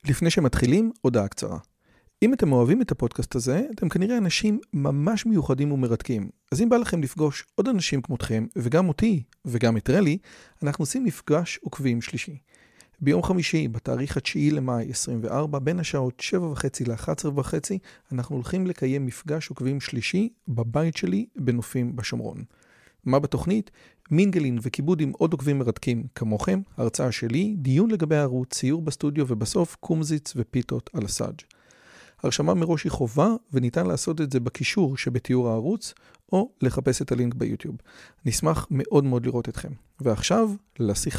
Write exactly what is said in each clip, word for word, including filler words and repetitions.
לפני שמתחילים, הודעה קצרה. אם אתם אוהבים את הפודקאסט הזה, אתם כנראה אנשים ממש מיוחדים ומרתקים. אז אם בא לכם לפגוש עוד אנשים כמותכם, וגם אותי, וגם את רלי, אנחנו עושים מפגש עוקבים שלישי. ביום חמישי, בתאריך התשיעי למאי עשרים וארבע, בין השעות שבע וחצי ל-אחת עשרה וחצי, אנחנו הולכים לקיים מפגש עוקבים שלישי בבית שלי בנופים בשומרון. מה בתוכנית? מינגלין וכיבוד עם עוד עוקבים מרתקים כמוכם, הרצאה שלי, דיון לגבי הערוץ, ציור בסטודיו ובסוף קומזיץ ופיתות על הסאג'. הרשמה מראש היא חובה וניתן לעשות את זה בקישור שבתיאור הערוץ או לחפש את הלינק ביוטיוב. נשמח מאוד מאוד לראות אתכם. ועכשיו לשיחה.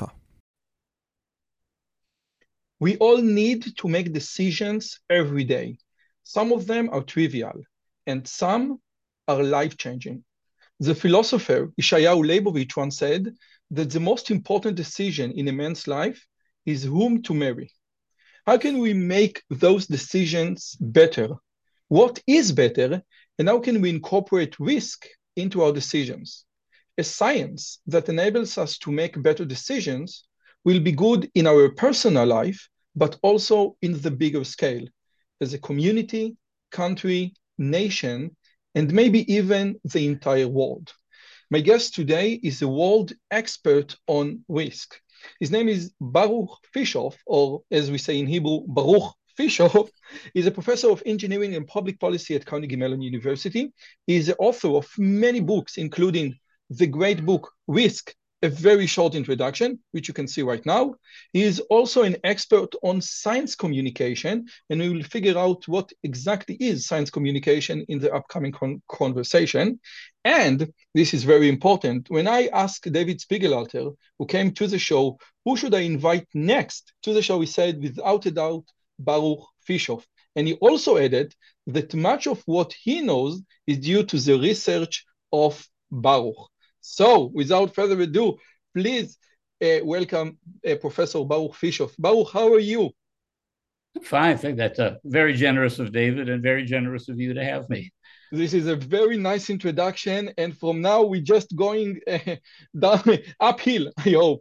We all need to make decisions every day. Some of them are trivial and some are life-changing. The philosopher Yeshayahu Leibovich once said that the most important decision in a man's life is whom to marry. How can we make those decisions better? What is better? And how can we incorporate risk into our decisions? A science that enables us to make better decisions will be good in our personal life, but also in the bigger scale, as a community, country, nation, and maybe even the entire world. My guest today is a world expert on risk. His name is Baruch Fishof, or as we say in Hebrew, Baruch Fishof. He's a professor of engineering and public policy at Carnegie Mellon University. He is the author of many books, including the great book, Risk, a very short introduction, which you can see right now. He is also an expert on science communication, and we will figure out what exactly is science communication in the upcoming con- conversation. And this is very important. When I asked David Spiegelalter, who came to the show, who should I invite next to the show, he said, without a doubt, Baruch Fishof. And he also added that much of what he knows is due to the research of Baruch. So, without further ado, please uh, welcome uh, Professor Baruch Fishof. Baruch, how are you? Fine, I think that's uh, very generous of David and very generous of you to have me. This is a very nice introduction, and from now we're just going uh, down uphill, I hope.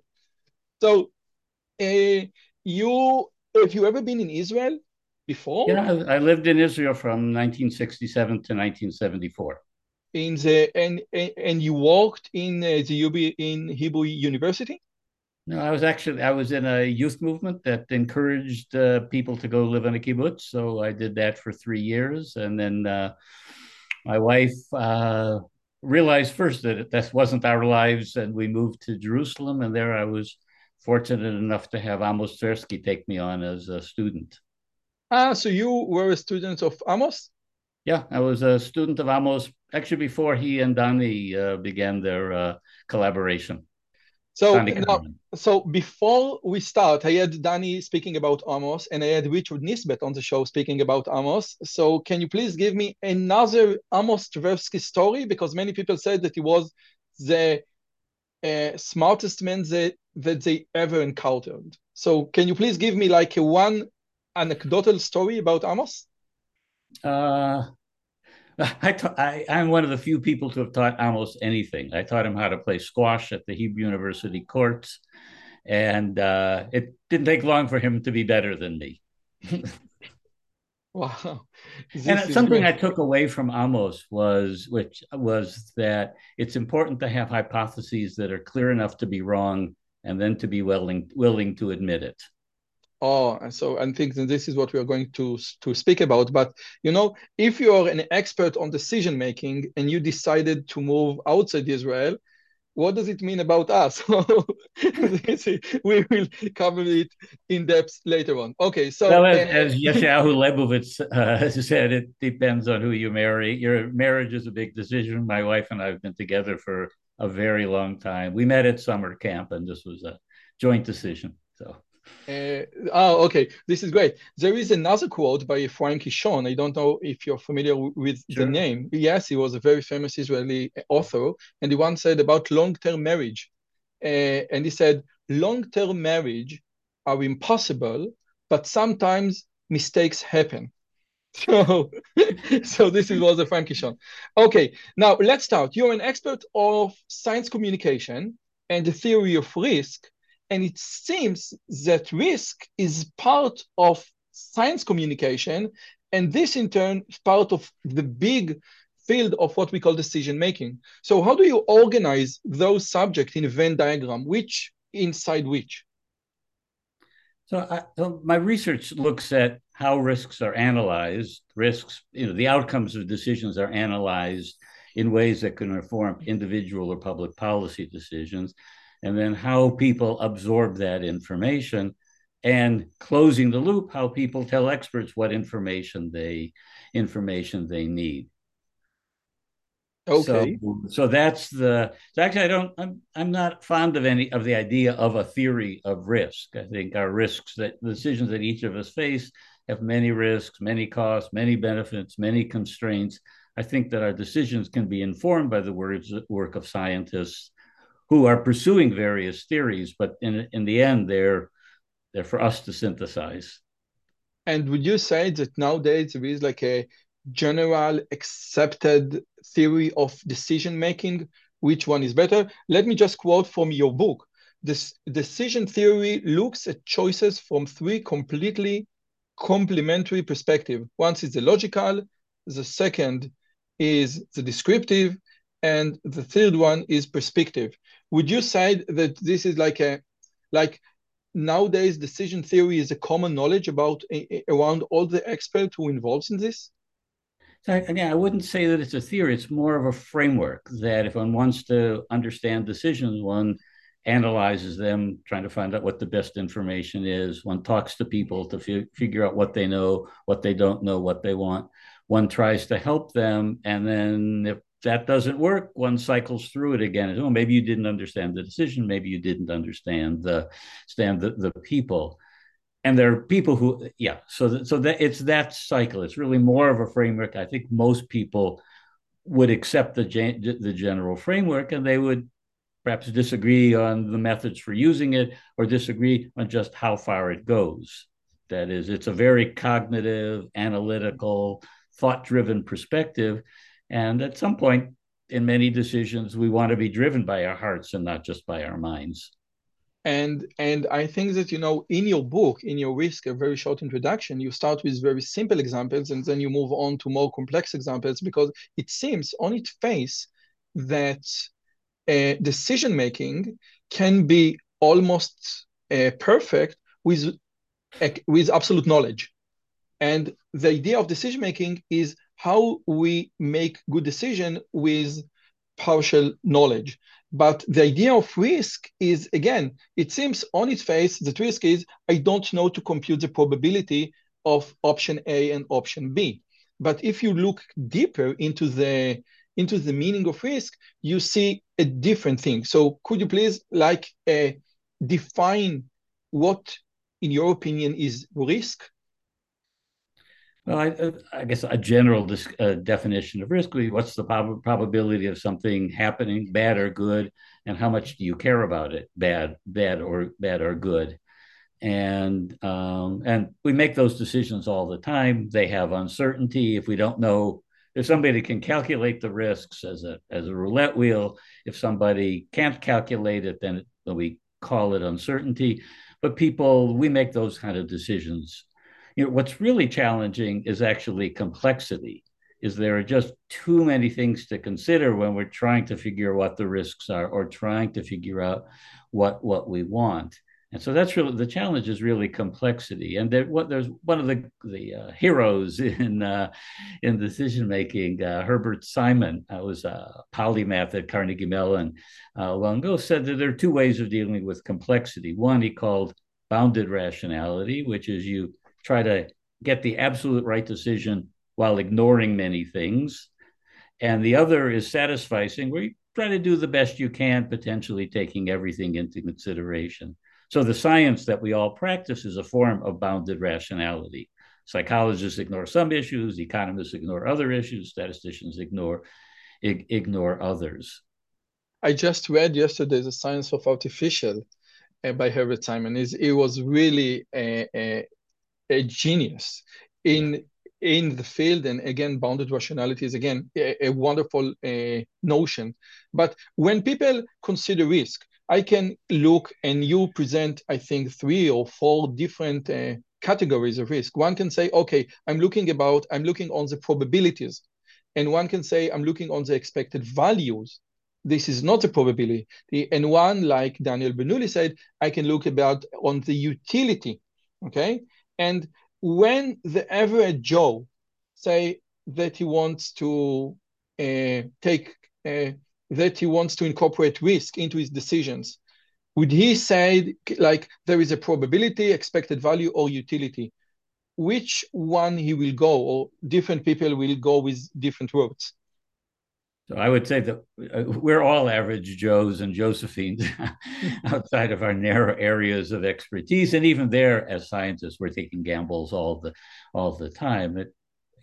So, uh, you have you ever been in Israel before? Yeah, I lived in Israel from nineteen sixty-seven to nineteen seventy-four. In the and and you worked in uh, the U B in Hebrew University? No, I was actually I was in a youth movement that encouraged uh, people to go live in a kibbutz. So I did that for three years, and then uh, my wife uh, realized first that that wasn't our lives, and we moved to Jerusalem. And there, I was fortunate enough to have Amos Tversky take me on as a student. Ah, so you were a student of Amos? Yeah, I was a student of Amos actually before he and Donnie uh, began their uh, collaboration. So now, so before we start, I had Danny speaking about Amos, and I had Richard Nisbet on the show speaking about Amos. So can you please give me another Amos Tversky story? Because many people said that he was the uh, smartest man that, that they ever encountered. So can you please give me like a one anecdotal story about Amos? Uh, I ta- I, I'm one of the few people to have taught Amos anything. I taught him how to play squash at the Hebrew University courts, and uh, it didn't take long for him to be better than me. Wow. This And is something great. I took away from Amos was, which was that it's important to have hypotheses that are clear enough to be wrong, and then to be willing willing to admit it. Oh, so I think that this is what we are going to to speak about. But you know, if you are an expert on decision making and you decided to move outside Israel, what does it mean about us? We will cover it in depth later on. Okay, so Well, as, uh, as Yeshayahu Leibovich uh, said, it depends on who you marry. Your marriage is a big decision. My wife and I have been together for a very long time. We met at summer camp, and this was a joint decision. So. Uh, oh, okay. This is great. There is another quote by Frank Kishon. I don't know if you're familiar with Sure. the name. Yes, he was a very famous Israeli author, and he once said about long-term marriage. Uh, and he said, long-term marriage are impossible, but sometimes mistakes happen. So, so this is was a Frank Kishon. Okay, now let's start. You're an expert of science communication and the theory of risk. And it seems that risk is part of science communication, and this in turn is part of the big field of what we call decision making. So how do you organize those subjects in a Venn diagram, which inside which? So, I, so my research looks at how risks are analyzed. Risks, you know, the outcomes of decisions are analyzed in ways that can inform individual or public policy decisions, and then how people absorb that information, and closing the loop, how people tell experts what information they information they need. Okay. So, so that's the. So actually, I don't. I'm. I'm not fond of any of the idea of a theory of risk. I think our risks, that the decisions that each of us face, have many risks, many costs, many benefits, many constraints. I think that our decisions can be informed by the words work of scientists who are pursuing various theories, but in in the end, they're they're for us to synthesize. And would you say that nowadays there is like a general accepted theory of decision making? Which one is better? Let me just quote from your book. This decision theory looks at choices from three completely complementary perspectives. One is the logical, the second is the descriptive, and the third one is perspective. Would you say that this is like a like nowadays decision theory is a common knowledge about around all the experts who involved in this? So again, I wouldn't say that it's a theory. It's more of a framework that if one wants to understand decisions, one analyzes them, trying to find out what the best information is. One talks to people to fi- figure out what they know, what they don't know, what they want. One tries to help them. And then if that doesn't work, one cycles through it again. Oh, maybe you didn't understand the decision. Maybe you didn't understand the, stand the, the people. And there are people who, yeah, so that, so that it's that cycle. It's really more of a framework. I think most people would accept the the general framework, and they would perhaps disagree on the methods for using it, or disagree on just how far it goes. That is, it's a very cognitive, analytical, thought-driven perspective, and at some point in many decisions, we want to be driven by our hearts and not just by our minds. And and I think that, you know, in your book, in your risk, a very short introduction, you start with very simple examples and then you move on to more complex examples, because it seems on its face that uh, decision making can be almost uh, perfect with uh, with absolute knowledge. And the idea of decision making is how we make good decision with partial knowledge. But the idea of risk is, again, it seems on its face that risk is I don't know to compute the probability of option A and option B. But if you look deeper into the into the meaning of risk, you see a different thing. So could you please like uh, define what, in your opinion, is risk? Well, I, I guess a general dis, uh, definition of risk would be what's the prob- probability of something happening, bad or good, and how much do you care about it, bad, bad or bad or good, and um, and we make those decisions all the time. They have uncertainty. If we don't know, if somebody can calculate the risks as a as a roulette wheel, if somebody can't calculate it, then it, we call it uncertainty. But people, we make those kind of decisions. You know, what's really challenging is actually complexity, is there are just too many things to consider when we're trying to figure what the risks are or trying to figure out what, what we want. And so that's really, the challenge is really complexity. And there, what, there's one of the, the uh, heroes in, uh, in decision making, uh, Herbert Simon, uh, was a polymath at Carnegie Mellon uh, long ago, said that there are two ways of dealing with complexity. One he called bounded rationality, which is you try to get the absolute right decision while ignoring many things. And the other is satisficing, where you try to do the best you can, potentially taking everything into consideration. So the science that we all practice is a form of bounded rationality. Psychologists ignore some issues, economists ignore other issues, statisticians ignore, ig- ignore others. I just read yesterday The Science of Artificial uh, by Herbert Simon. Is It was really a, a a genius in in the field, and again, bounded rationality is again a, a wonderful uh, notion. But when people consider risk, I can look and you present, I think, three or four different uh, categories of risk. One can say, okay, I'm looking about, I'm looking on the probabilities. And one can say, I'm looking on the expected values. This is not a probability. And one, like Daniel Bernoulli said, I can look about on the utility, okay? And when the average Joe say that he wants to uh, take, uh, that he wants to incorporate risk into his decisions, would he say, like, there is a probability, expected value, or utility? Which one he will go, or different people will go with different routes? So I would say that we're all average Joes and Josephines outside of our narrow areas of expertise. And even there, as scientists, we're taking gambles all the all the time. It,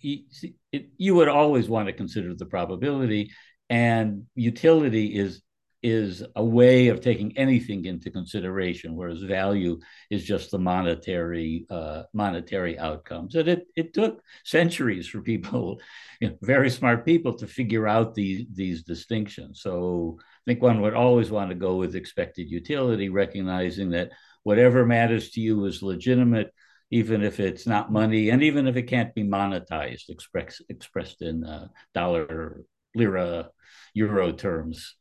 it, you would always want to consider the probability, and utility is is a way of taking anything into consideration, whereas value is just the monetary uh, monetary outcomes. And it it took centuries for people, you know, very smart people, to figure out these these distinctions. So I think one would always want to go with expected utility, recognizing that whatever matters to you is legitimate, even if it's not money, and even if it can't be monetized, express, expressed in uh, dollar, lira, euro terms.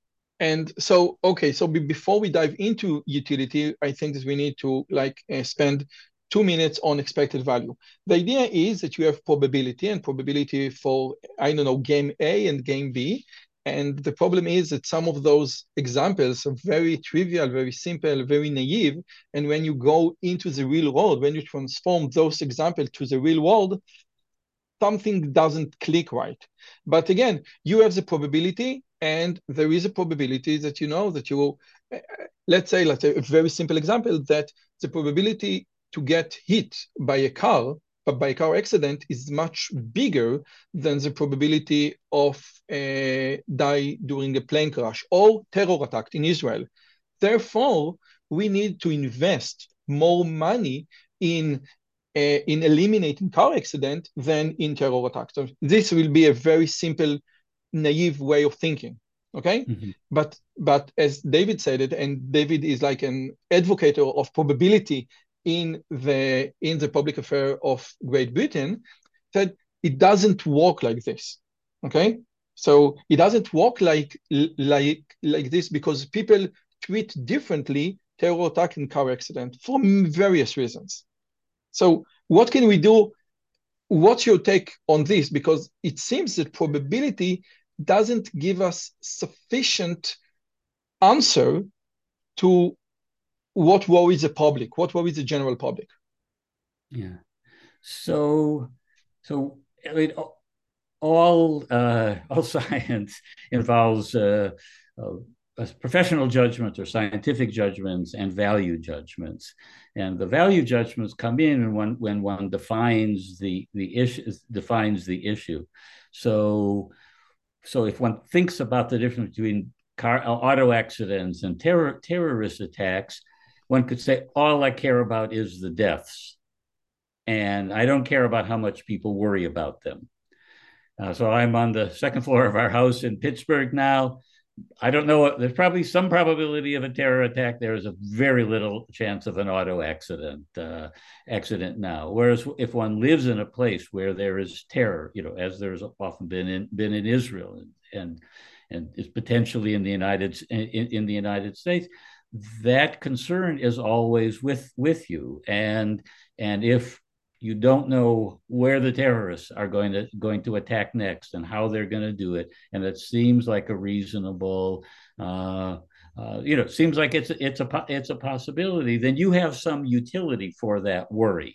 And so, okay, so before we dive into utility, I think that we need to like uh, spend two minutes on expected value. The idea is that you have probability and probability for, I don't know, game A and game B. And the problem is that some of those examples are very trivial, very simple, very naive. And when you go into the real world, when you transform those examples to the real world, something doesn't click right. But again, you have the probability, and there is a probability that you know that you, uh, let's say, let's say a very simple example, that the probability to get hit by a car, but by a car accident, is much bigger than the probability of uh, die during a plane crash or terror attack in Israel. Therefore, we need to invest more money in Uh, in eliminating car accident than in terror attacks. So this will be a very simple, naive way of thinking. Okay, mm-hmm. but but as David said it, and David is like an advocate of probability in the in the public affair of Great Britain, said it doesn't work like this. Okay, so it doesn't work like like like this because people treat differently terror attack and car accident for various reasons. So what can we do? What's your take on this? Because it seems that probability doesn't give us sufficient answer to what worries the public, what worries the general public. Yeah. So, so I mean, all uh, all science involves uh, uh, professional judgment or scientific judgments and value judgments. And the value judgments come in when, when one defines the, the issue, defines the issue. So, so if one thinks about the difference between car, auto accidents and terror, terrorist attacks, one could say, all I care about is the deaths. And I don't care about how much people worry about them. Uh, so I'm on the second floor of our house in Pittsburgh now. I don't know. There's probably some probability of a terror attack. There is a very little chance of an auto accident uh, accident now. Whereas if one lives in a place where there is terror, you know, as there's often been in been in Israel and and, and is potentially in the United in, in the United States, that concern is always with with you. And and if you don't know where the terrorists are going to going to attack next and how they're going to do it, and it seems like a reasonable, uh, uh, you know, seems like it's it's a it's a possibility. Then you have some utility for that worry,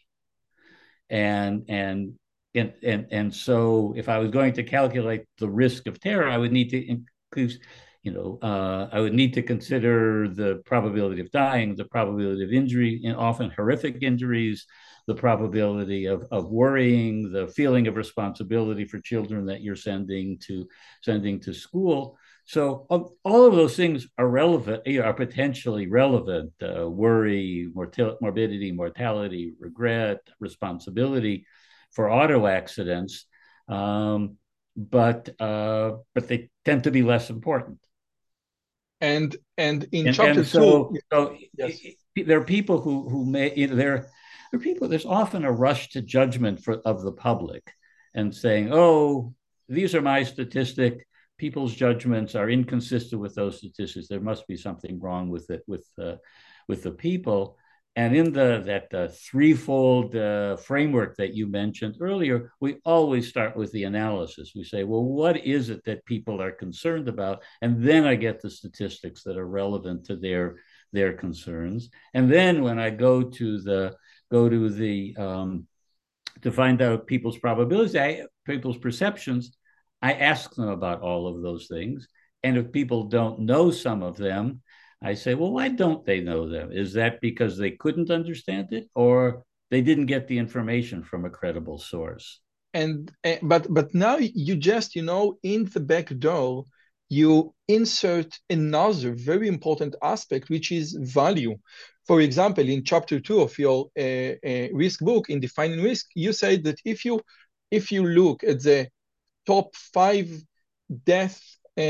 and and and and and so if I was going to calculate the risk of terror, I would need to increase. You know, uh, I would need to consider the probability of dying, the probability of injury, and often horrific injuries, the probability of, of worrying, the feeling of responsibility for children that you're sending to sending to school. So um, all of those things are relevant, are potentially relevant. Uh, worry, mortal, morbidity, mortality, regret, responsibility for auto accidents, um, but uh, but they tend to be less important. And and in and, chapter and so, two, so yes. there are people who who may you know, there. there are people, there's often a rush to judgment for, of the public and saying, oh, these are my statistics. People's judgments are inconsistent with those statistics. There must be something wrong with it, with, uh, with the people. And in the that uh, threefold uh, framework that you mentioned earlier, we always start with the analysis. We say, well, what is it that people are concerned about? And then I get the statistics that are relevant to their their concerns. And then when I go to the go to the um, to find out people's probabilities, I, people's perceptions, I ask them about all of those things. And if people don't know some of them, I say, well, why don't they know them? Is that because they couldn't understand it, or they didn't get the information from a credible source? And uh, but but now you just, you know, in the back door, you insert another very important aspect, which is value. For example, in chapter two of your uh, uh, risk book, in defining risk, you say that if you if you look at the top five death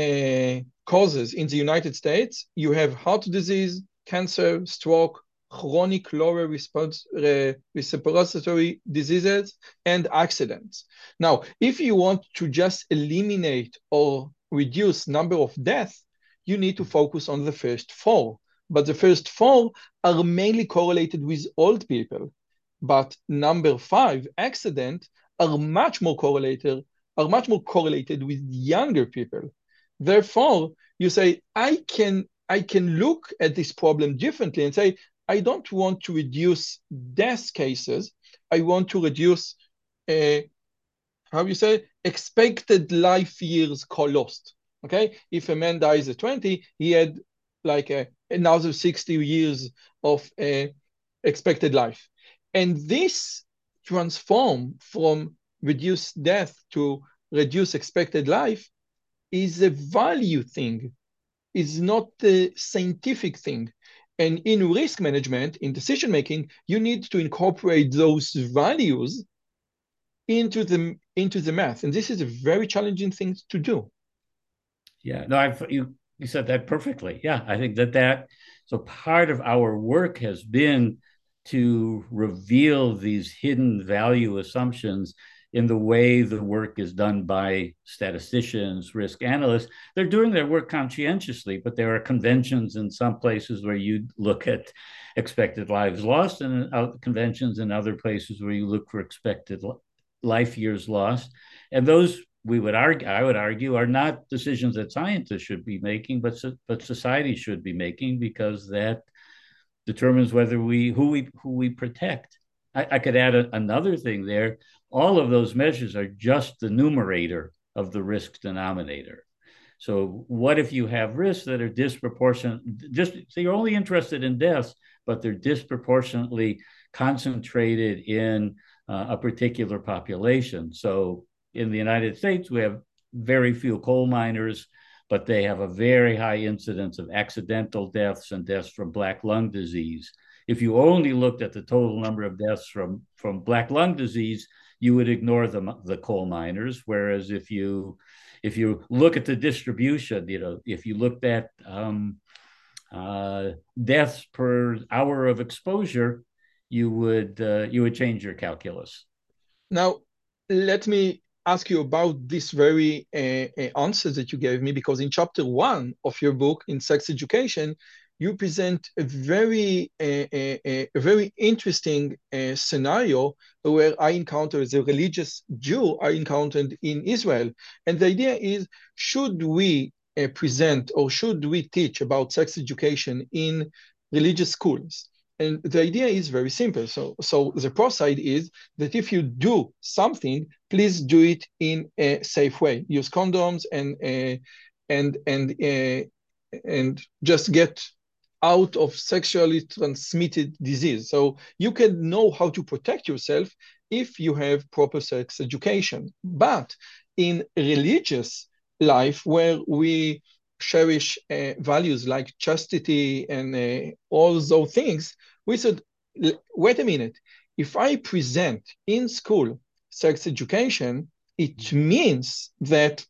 uh, causes in the United States, you have heart disease, cancer, stroke, chronic lower response, uh, respiratory diseases, and accidents. Now, if you want to just eliminate or reduce number of deaths, you need to focus on the first four. But the first four are mainly correlated with old people. But number five, accident, are much more correlated, are much more correlated with younger people. Therefore, you say, I can, I can look at this problem differently and say, I don't want to reduce death cases. I want to reduce, uh, how you say, expected life years lost. Okay, if a man dies at twenty, he had like a, another sixty years of uh, expected life. And this transform from reduced death to reduce expected life is a value thing, is not a scientific thing. And in risk management, in decision making, you need to incorporate those values into the into the math, and this is a very challenging thing to do. Yeah, no, I've, you you said that perfectly. Yeah, I think that that so part of our work has been to reveal these hidden value assumptions in the way the work is done by statisticians, risk analysts. They're doing their work conscientiously, but there are conventions in some places where you look at expected lives lost, and conventions in other places where you look for expected life years lost. And those, we would argue, I would argue, are not decisions that scientists should be making, but but society should be making, because that determines whether we who we who we protect. I, I could add a, another thing there. All of those measures are just the numerator of the risk denominator. So what if you have risks that are disproportionate? Just so you're only interested in deaths, but they're disproportionately concentrated in uh, a particular population. So in the United States, we have very few coal miners, but they have a very high incidence of accidental deaths and deaths from black lung disease. If you only looked at the total number of deaths from, from black lung disease, you would ignore the, the coal miners. Whereas if you if you look at the distribution, you know, if you looked at um, uh, deaths per hour of exposure, you would uh, you would change your calculus. Now, let me ask you about this very uh, uh, answer that you gave me, because in chapter one of your book, in Sex Education, you present a very, uh, uh, a very interesting uh, scenario where I encountered, as a religious Jew, I encountered in Israel. And the idea is, should we uh, present or should we teach about sex education in religious schools? And the idea is very simple. So, so the pro side is that if you do something, please do it in a safe way. Use condoms and uh, and and uh, and just get out of sexually transmitted disease. So you can know how to protect yourself if you have proper sex education. But in religious life, where we cherish uh, values like chastity and uh, all those things, we said, wait a minute, if I present in school sex education, it means that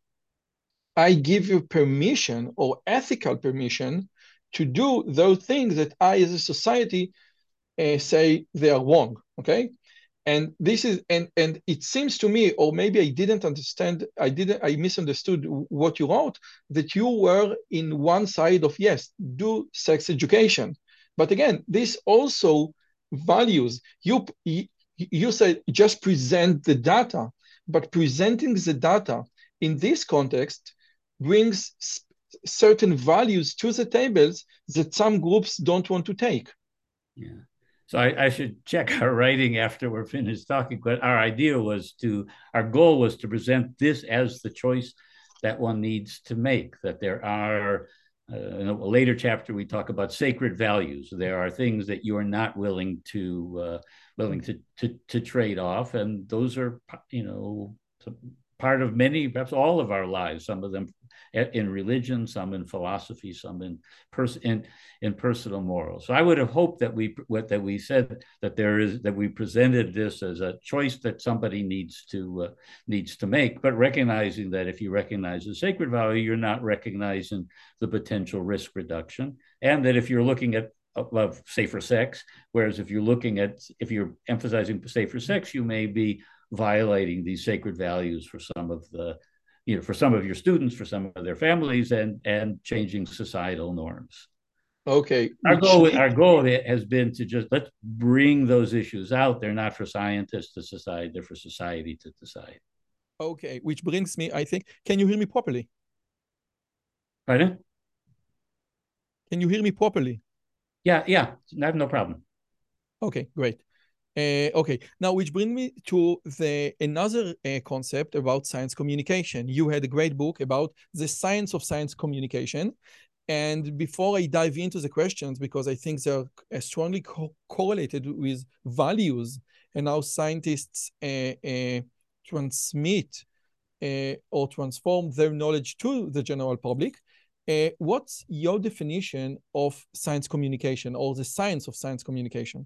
I give you permission or ethical permission to do those things that I, as a society, uh, say they are wrong. okay? And this is, and, and it seems to me, or maybe I didn't understand, I didn't, I misunderstood what you wrote, that you were in one side of, yes, do sex education. But again, this also values, you, you said just present the data, but presenting the data in this context brings certain values to the tables that some groups don't want to take. Yeah. So I, I should check our writing after we're finished talking, but our idea was to, our goal was to present this as the choice that one needs to make, that there are, uh, in a later chapter, we talk about sacred values. There are things that you are not willing to, uh, willing to, to, to trade off. And those are, you know, part of many, perhaps all of our lives, some of them in religion, some in philosophy, some in, pers- in, in personal morals. So I would have hoped that we, what, that we said that there is, that we presented this as a choice that somebody needs to, uh, needs to make, but recognizing that if you recognize the sacred value, you're not recognizing the potential risk reduction. And that if you're looking at of safer sex, whereas if you're looking at, if you're emphasizing safer sex, you may be violating these sacred values for some of the, you know, for some of your students, for some of their families, and and changing societal norms. Okay. Our goal, did... our goal has been to just let's bring those issues out. They're not for scientists to decide; they're for society to decide. Okay, which brings me, I think, can you hear me properly? Pardon? Can you hear me properly? Yeah, yeah, I have no problem. Okay, great. Uh, okay, now which brings me to the another uh, concept about science communication. You had a great book about the science of science communication. And before I dive into the questions, because I think they're uh, strongly co- correlated with values and how scientists uh, uh, transmit uh, or transform their knowledge to the general public, uh, what's your definition of science communication or the science of science communication?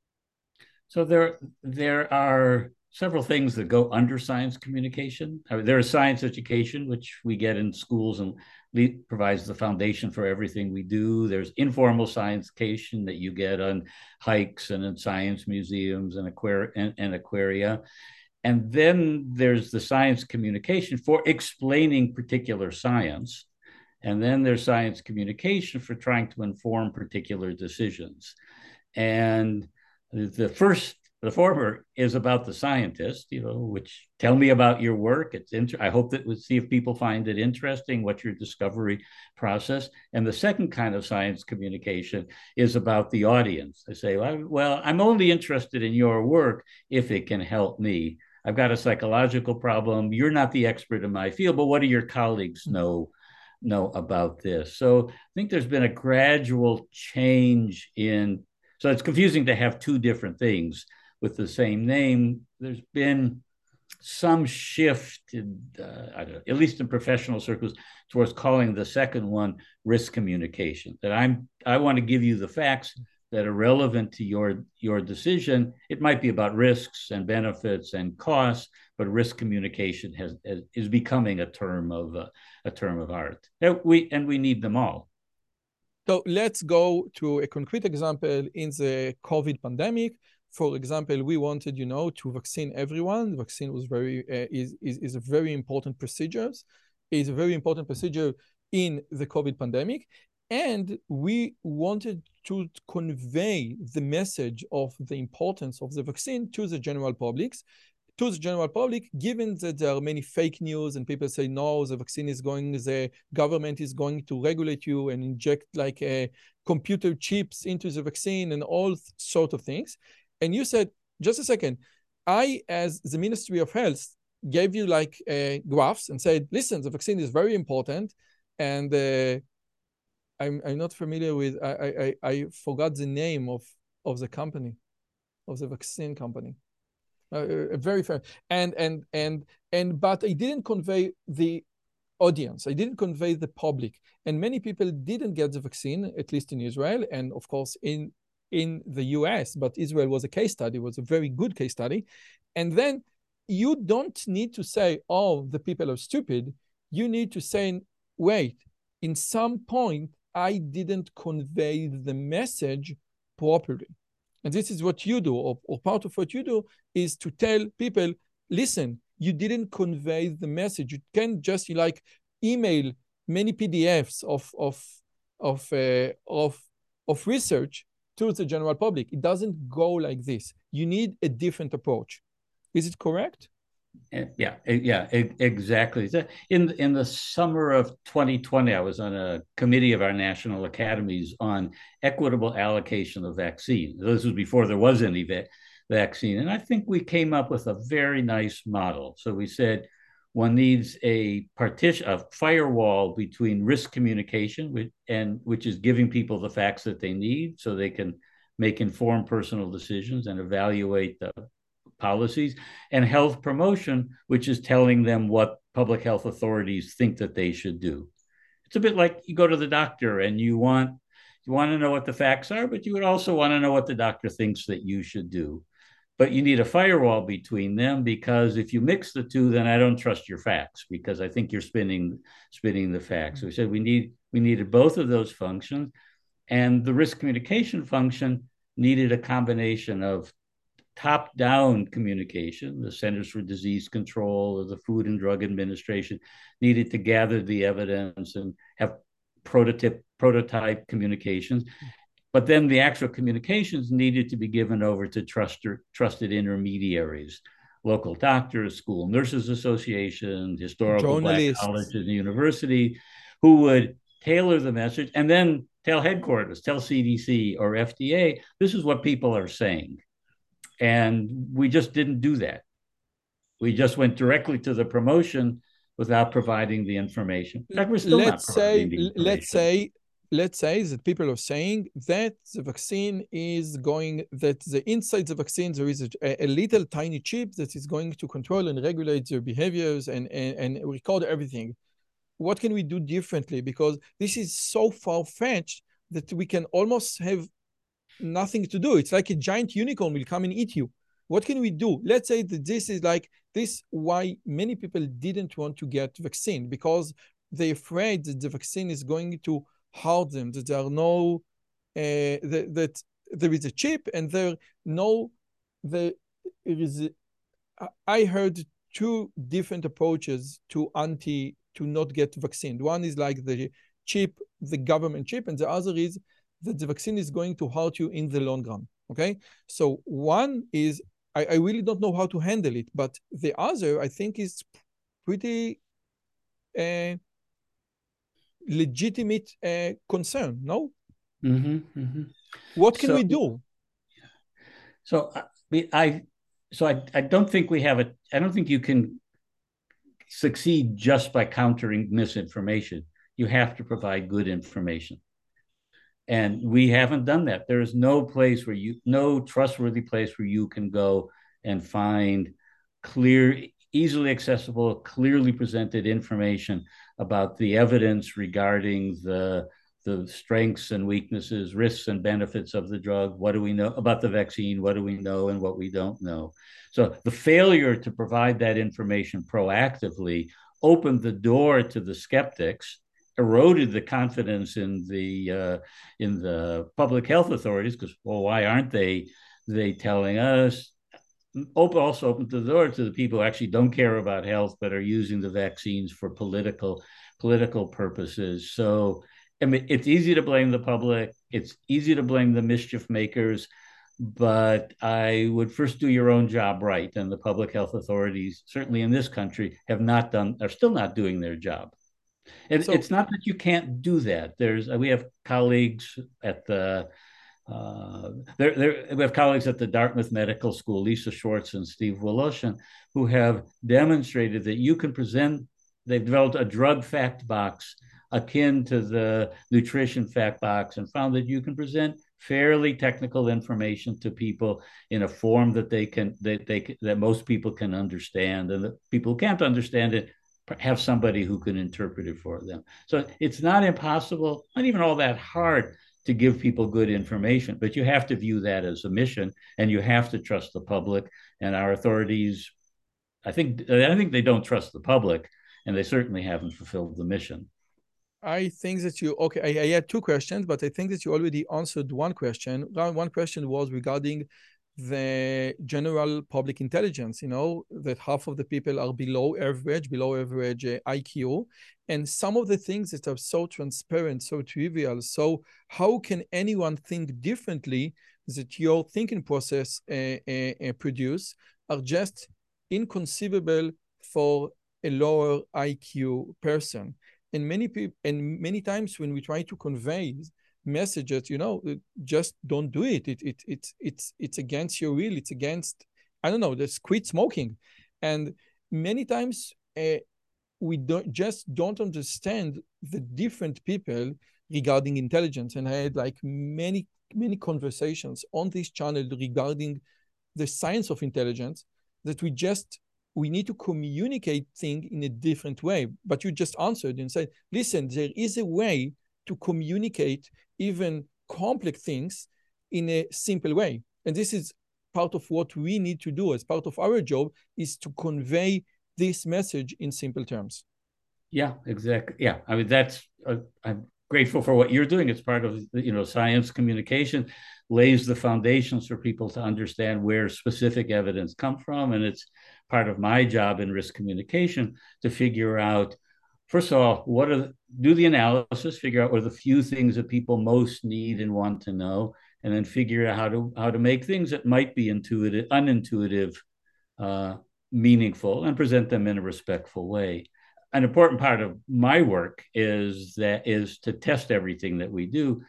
So there, there are several things that go under science communication. I mean, there is science education, which we get in schools and le- provides the foundation for everything we do. There's informal science education that you get on hikes and in science museums and, aquari- and, and aquaria. And then there's the science communication for explaining particular science. And then there's science communication for trying to inform particular decisions. And the first, the former is about the scientist, you know, which tell me about your work. It's inter- I hope that we'll see if people find it interesting, what's your discovery process. And the second kind of science communication is about the audience. I say, well, well, I'm only interested in your work if it can help me. I've got a psychological problem. You're not the expert in my field, but what do your colleagues know? know about this? So I think there's been a gradual change in, so it's confusing to have two different things with the same name. There's been some shift, in, uh, I don't know, at least in professional circles, towards calling the second one risk communication. That I'm, I want to give you the facts that are relevant to your, your decision. It might be about risks and benefits and costs, but risk communication has, has is becoming a term of uh, a term of art. And we and we need them all. So let's go to a concrete example in the COVID pandemic. For example, we wanted, you know, to vaccine everyone. The vaccine was very uh, is, is is a very important procedure. Is a very important procedure in the COVID pandemic. And we wanted to convey the message of the importance of the vaccine to the general public, to the general public, given that there are many fake news and people say, no, the vaccine is going, the government is going to regulate you and inject like a computer chips into the vaccine and all sort of things. And you said, just a second, I, as the Ministry of Health, gave you like uh, graphs and said, listen, the vaccine is very important. And uh, I'm, I'm not familiar with, I, I, I forgot the name of, of the company, of the vaccine company. Uh, very fair. And, and, and, and, but I didn't convey the audience. I didn't convey the public. And many people didn't get the vaccine, at least in Israel. And of course, in, in the U S, but Israel was a case study, was a very good case study. And then you don't need to say, oh, the people are stupid. You need to say, wait, in some point, I didn't convey the message properly. And this is what you do, or, or part of what you do is to tell people, listen, you didn't convey the message. You can't just like email many P D Fs of of of uh, of of research to the general public. It doesn't go like this. You need a different approach. Is it correct? Yeah, yeah, exactly. In in the summer of twenty twenty, I was on a committee of our national academies on equitable allocation of vaccine. This was before there was any va- vaccine, and I think we came up with a very nice model. So we said one needs a partition, a firewall between risk communication, which, and which is giving people the facts that they need so they can make informed personal decisions and evaluate the policies, and health promotion, which is telling them what public health authorities think that they should do. It's a bit like you go to the doctor and you want you want to know what the facts are, but you would also want to know what the doctor thinks that you should do. But you need a firewall between them, because if you mix the two, then I don't trust your facts, because I think you're spinning spinning the facts. So we said we need we needed both of those functions, and the risk communication function needed a combination of top-down communication. The Centers for Disease Control or the Food and Drug Administration needed to gather the evidence and have prototype prototype communications. But then the actual communications needed to be given over to trusted, trusted intermediaries, local doctors, school nurses associations, historical Black colleges and universities, who would tailor the message and then tell headquarters, tell C D C or F D A, this is what people are saying. And we just didn't do that. We just went directly to the promotion without providing the information. In fact, we're still let's not providing say, the information. Let's say, let's say that people are saying that the vaccine is going, that the inside the vaccine, there is a, a little tiny chip that is going to control and regulate their behaviors and, and, and record everything. What can we do differently? Because this is so far-fetched that we can almost have nothing to do. It's like a giant unicorn will come and eat you. What can we do? Let's say that this is like this, why many people didn't want to get vaccine, because they're afraid that the vaccine is going to hurt them, that there are no, uh, that, that there is a chip and there no, there is, a, I heard two different approaches to anti, to not get vaccine. One is like the chip, the government chip, and the other is that the vaccine is going to hurt you in the long run, okay? So one is, I, I really don't know how to handle it, but the other, I think, is pretty uh, legitimate uh, concern, no? Mm-hmm, mm-hmm. What can so, we do? So I, I so I, I don't think we have a, I don't think you can succeed just by countering misinformation. You have to provide good information. And we haven't done that. There is no place where you, no trustworthy place where you can go and find clear, easily accessible, clearly presented information about the evidence regarding the, the strengths and weaknesses, risks and benefits of the drug. What do we know about the vaccine? What do we know and what we don't know? So the failure to provide that information proactively opened the door to the skeptics, eroded the confidence in the uh, in the public health authorities, because, well, why aren't they they telling us? Open also opened the door to the people who actually don't care about health but are using the vaccines for political political purposes. So I mean, it's easy to blame the public. It's easy to blame the mischief makers. But I would first do your own job right. And the public health authorities, certainly in this country, have not done, are still not doing their job. And so, it's not that you can't do that. There's we have colleagues at the uh, there, there, we have colleagues at the Dartmouth Medical School, Lisa Schwartz and Steve Woloshin, who have demonstrated that you can present. They've developed a drug fact box akin to the nutrition fact box, and found that you can present fairly technical information to people in a form that they can that they that most people can understand, and that people who can't understand it have somebody who can interpret it for them. So it's not impossible, not even all that hard to give people good information, but you have to view that as a mission, and you have to trust the public. And our authorities, I think, I think they don't trust the public, and they certainly haven't fulfilled the mission. I think that you, okay, I, I had two questions, but I think that you already answered one question. One question was regarding the general public intelligence, you know, that half of the people are below average, below average uh, I Q. And some of the things that are so transparent, so trivial. So how can anyone think differently that your thinking process uh, uh, uh, produce are just inconceivable for a lower I Q person? And many people, and many times when we try to convey messages, you know, just don't do it. It, it, it's, it's, it's against your will. It's against, I don't know, just quit smoking. And many times uh, we don't just don't understand the different people regarding intelligence. And I had like many, many conversations on this channel regarding the science of intelligence that we just we need to communicate things in a different way. But you just answered and said, listen, there is a way to communicate even complex things in a simple way. And this is part of what we need to do as part of our job, is to convey this message in simple terms. Yeah, exactly. Yeah, I mean, that's, uh, I'm grateful for what you're doing. It's part of, you know, science communication lays the foundations for people to understand where specific evidence comes from. And it's part of my job in risk communication to figure out, first of all, what are the, do the analysis, figure out what are the few things that people most need and want to know, and then figure out how to how to make things that might be intuitive, unintuitive, uh, meaningful, and present them in a respectful way. An important part of my work is that is to test everything that we do,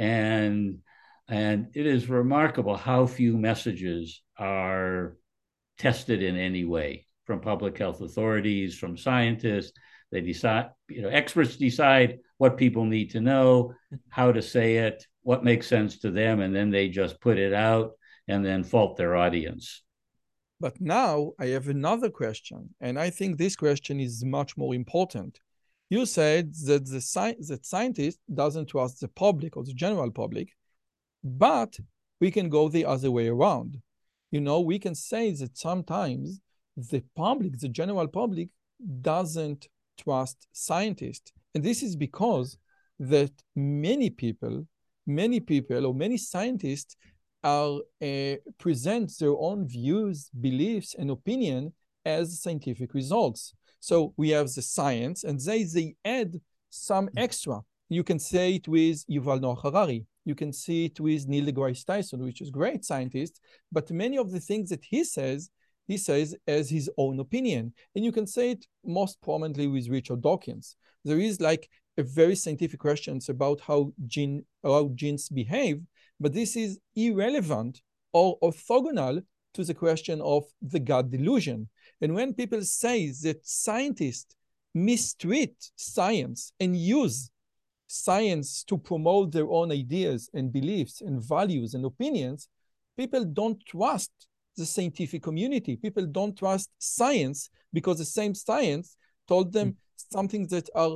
and and it is remarkable how few messages are tested in any way from public health authorities, from scientists. They decide, you know, experts decide what people need to know, how to say it, what makes sense to them, and then they just put it out and then fault their audience. But now I have another question, and I think this question is much more important. You said that the sci- that scientist doesn't trust the public or the general public, but we can go the other way around. You know, we can say that sometimes the public, the general public, doesn't trust scientists. And this is because that many people, many people or many scientists are uh, present their own views, beliefs, and opinion as scientific results. So we have the science, and they, they add some extra. You can say it with Yuval Noah Harari. You can see it with Neil deGrasse Tyson, which is a great scientist, but many of the things that he says, he says as his own opinion. And you can say it most prominently with Richard Dawkins. There is like a very scientific questions about how gene, how genes behave, but this is irrelevant or orthogonal to the question of the God delusion. And when people say that scientists mistreat science and use science to promote their own ideas and beliefs and values and opinions, people don't trust the scientific community. People don't trust science because the same science told them mm. something that are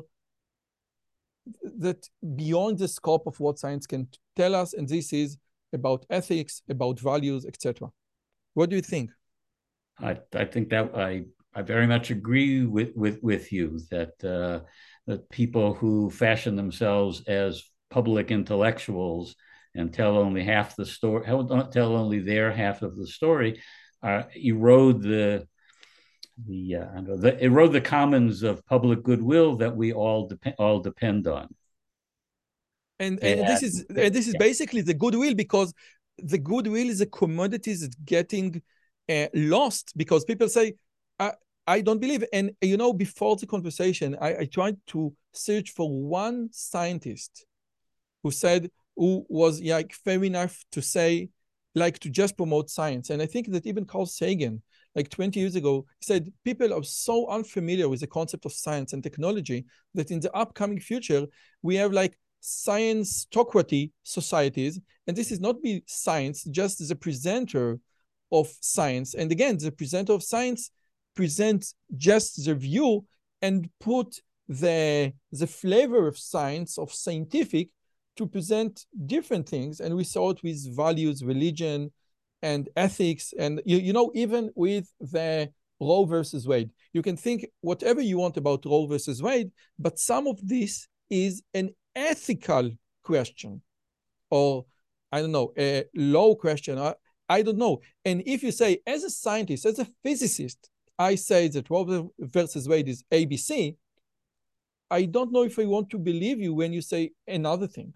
that beyond the scope of what science can tell us, and this is about ethics, about values, et cetera. What do you think? I, I think that I, I very much agree with, with, with you that uh, that people who fashion themselves as public intellectuals and tell only half the story, tell only their half of the story, uh, erode the the, uh, the erode the commons of public goodwill that we all depend all depend on. And, and, and this is and this is yeah. basically the goodwill, because the goodwill is a commodity that's getting uh, lost because people say, I, I don't believe it. And, you know, before the conversation, I, I tried to search for one scientist who said, who was like fair enough to say, like to just promote science. And I think that even Carl Sagan, like twenty years ago, said people are so unfamiliar with the concept of science and technology that in the upcoming future, we have like science-tocracy societies. And this is not be science, just the presenter of science. And again, the presenter of science presents just the view and put the, the flavor of science, of scientific, to present different things. And we saw it with values, religion, and ethics. And, you, you know, even with the Roe versus Wade, you can think whatever you want about Roe versus Wade, but some of this is an ethical question, or I don't know, a low question. I, I don't know. And if you say, as a scientist, as a physicist, I say that Roe versus Wade is A B C, I don't know if I want to believe you when you say another thing.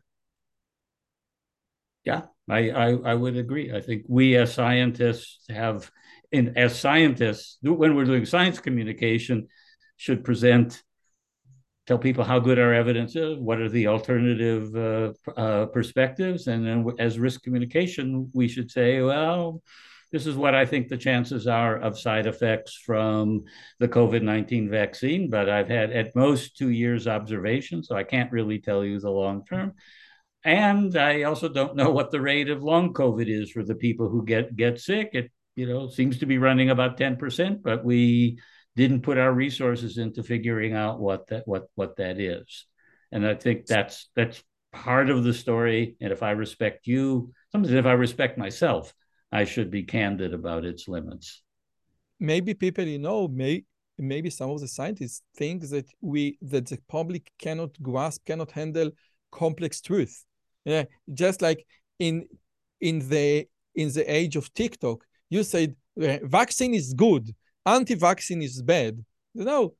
Yeah, I, I, I would agree. I think we as scientists have, in as scientists, when we're doing science communication, should present, tell people how good our evidence is, what are the alternative uh, uh, perspectives, and then as risk communication, we should say, well, this is what I think the chances are of side effects from the COVID nineteen vaccine, but I've had at most two years observation, so I can't really tell you the long term. And I also don't know what the rate of long COVID is for the people who get get sick. It, you know, seems to be running about ten percent, but we didn't put our resources into figuring out what that what what that is. And I think that's that's part of the story. And if I respect you, sometimes if I respect myself, I should be candid about its limits. Maybe people, you know, may maybe some of the scientists think that we that the public cannot grasp, cannot handle complex truth. Yeah, just like in in the in the age of TikTok, you said vaccine is good, anti-vaccine is bad. You know,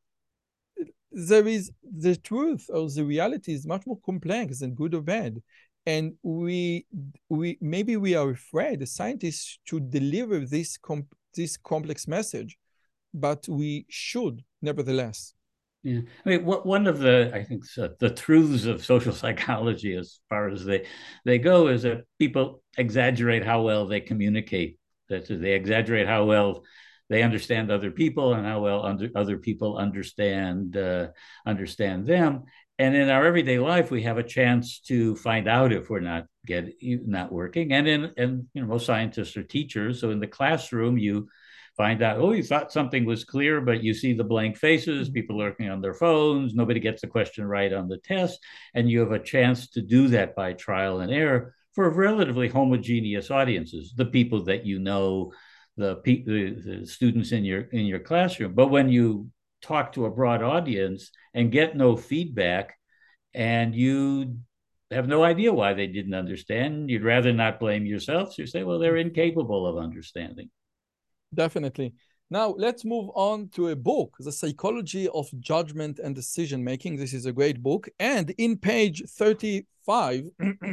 there is the truth or the reality is much more complex than good or bad. And we we maybe we are afraid, the scientists, to deliver this com this complex message, but we should nevertheless. Yeah, I mean, what, one of the I think so, the truths of social psychology, as far as they they go, is that people exaggerate how well they communicate. That they exaggerate how well they understand other people and how well under, other people understand uh, understand them. And in our everyday life, we have a chance to find out if we're not get not working. And in and you know, most scientists are teachers, so in the classroom, you find out, oh, you thought something was clear, but you see the blank faces, people lurking on their phones, nobody gets the question right on the test, and you have a chance to do that by trial and error for relatively homogeneous audiences, the people that you know, the, the, the students in your in your classroom. But when you talk to a broad audience and get no feedback, and you have no idea why they didn't understand, you'd rather not blame yourself. So you say, well, they're incapable of understanding. Definitely. Now, let's move on to a book, The Psychology of Judgment and Decision Making. This is a great book. And in page thirty-five,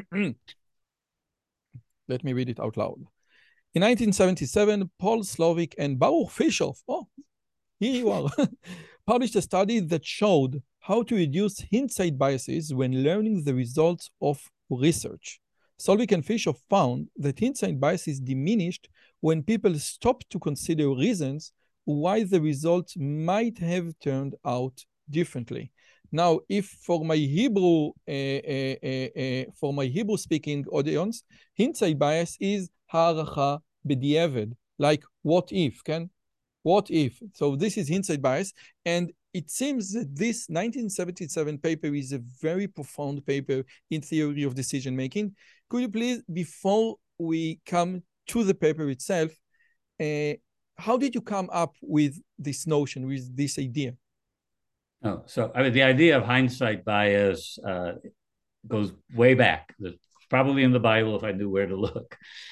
let me read it out loud. In nineteen seventy-seven, Paul Slovic and Baruch Fischoff, oh, here you are, published a study that showed how to reduce hindsight biases when learning the results of research. Slovic and Fischoff found that hindsight bias is diminished when people stop to consider reasons why the results might have turned out differently. Now, if for my Hebrew, uh, uh, uh, uh, for my Hebrew-speaking audience, hindsight bias is ha'aracha b'di'evad, like what if, can? What if? So this is hindsight bias, and it seems that this nineteen seventy-seven paper is a very profound paper in theory of decision making. Could you please, before we come to the paper itself, uh, how did you come up with this notion, with this idea? Oh, so I mean, the idea of hindsight bias uh, goes way back. It's probably in the Bible if I knew where to look.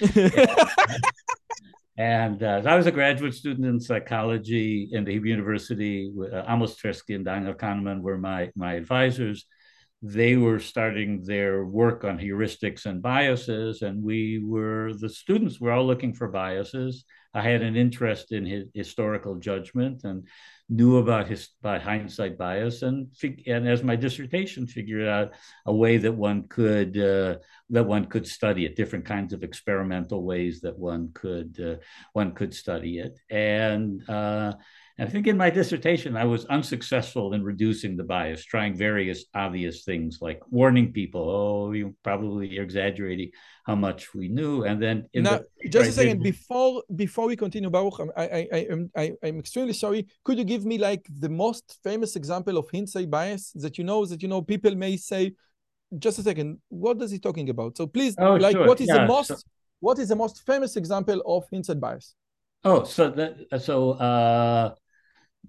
And uh, I was a graduate student in psychology in the Hebrew University. Uh, Amos Tversky and Daniel Kahneman were my, my advisors. They were starting their work on heuristics and biases, and we were, the students were all looking for biases. I had an interest in his historical judgment and knew about his about hindsight bias, and and as my dissertation figured out a way that one could uh, that one could study it, different kinds of experimental ways that one could uh, one could study it, and. Uh, I think in my dissertation, I was unsuccessful in reducing the bias, trying various obvious things like warning people, oh, you probably you're exaggerating how much we knew. And then in now, the, just a second, before before we continue, Baruch, I, I, I, I'm, I, I'm extremely sorry. Could you give me like the most famous example of hindsight bias that you know, that you know people may say, just a second, what is he talking about? So please, oh, like, sure. what is yeah, the most, so, what is the most famous example of hindsight bias? Oh, so that, so, uh,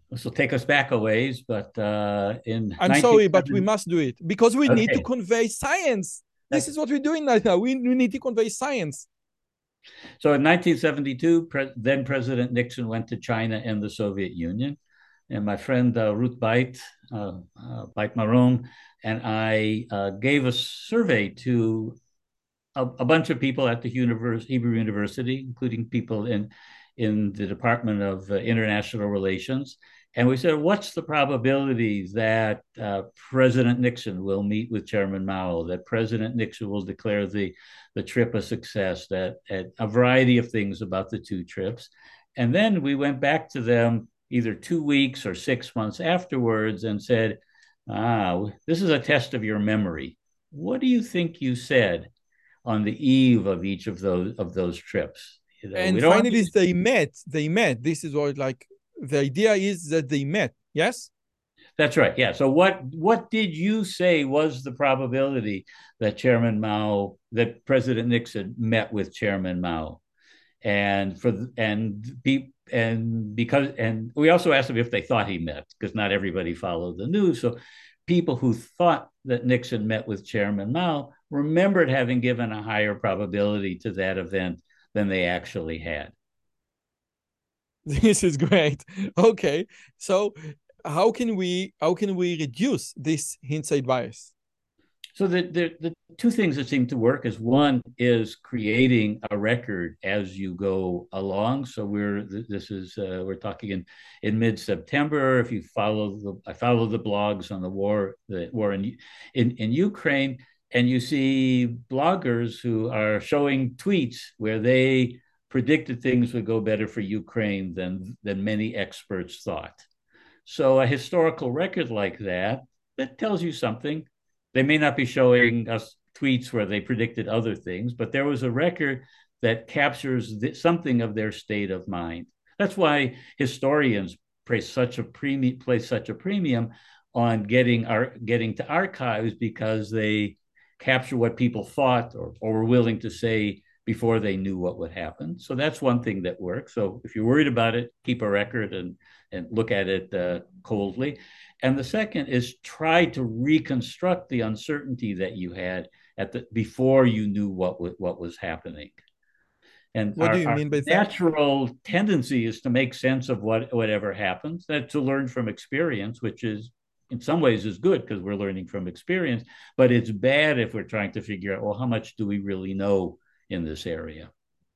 This will take us back a ways, but uh, in I'm sorry, but we nineteen seventy, must do it because we need to okay, convey science. This that's, is what we're doing right now. We, we need to convey science. so in nineteen seventy-two, pre- then President Nixon went to China and the Soviet Union. And my friend uh, Ruth Beit, uh, uh, Beit Maron, and I uh, gave a survey to a, a bunch of people at the univers- Hebrew University, including people in, in the Department of uh, International Relations. And we said, what's the probability that uh, President Nixon will meet with Chairman Mao, that President Nixon will declare the, the trip a success, that, that a variety of things about the two trips. And then we went back to them either two weeks or six months afterwards and said, ah, this is a test of your memory. What do you think you said on the eve of each of those of those trips? You know, we And don't finally, they met. They met. This is what, like, the idea is that they met. Yes? That's right. Yeah. So what what did you say was the probability that Chairman Mao, that President Nixon met with Chairman Mao? And for and be and because and we also asked them if they thought he met, because not everybody followed the news. So people who thought that Nixon met with Chairman Mao remembered having given a higher probability to that event than they actually had. This is great. Okay. So how can we how can we reduce this hindsight bias? So the, the, the two things that seem to work is, one is creating a record as you go along. So we're this is uh, we're talking in in mid September. If you follow the I follow the blogs on the war the war in in in Ukraine, and you see bloggers who are showing tweets where they predicted things would go better for Ukraine than than many experts thought. So a historical record like that, that tells you something. They may not be showing us tweets where they predicted other things, but there was a record that captures something of their state of mind. That's why historians place such a premium, place such a premium on getting our getting to archives, because they capture what people thought or, or were willing to say before they knew what would happen. So that's one thing that works. So if you're worried about it, keep a record and and look at it uh, coldly. And the second is try to reconstruct the uncertainty that you had at the before you knew what w- what was happening. And What our, do you our mean by that? natural tendency is to make sense of what whatever happens, that to learn from experience, which is in some ways is good because we're learning from experience, but it's bad if we're trying to figure out, well, how much do we really know in this area?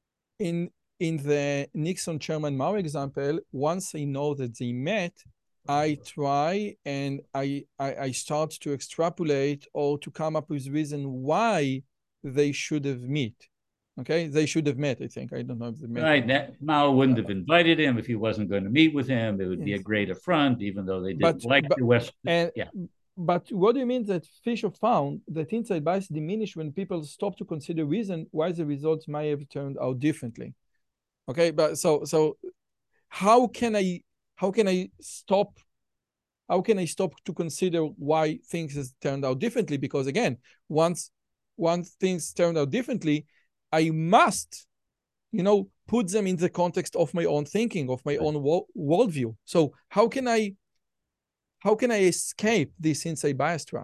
In in the Nixon Chairman Mao example, once I know that they met, I try and I, I I start to extrapolate or to come up with reason why they should have met. Okay, they should have met. I think I don't know if they met. Right. That, Mao wouldn't have invited him if he wasn't going to meet with him. It would be a Yes. great affront, even though they didn't But like but the West. and Yeah. but what do you mean that Fisher found that inside bias diminished when people stop to consider reason why the results might have turned out differently? Okay, but so so how can I how can I stop how can I stop to consider why things has turned out differently? Because again, once once things turned out differently, I must, you know, put them in the context of my own thinking, of my own wo- worldview. So how can I how can I escape this inside bias trap?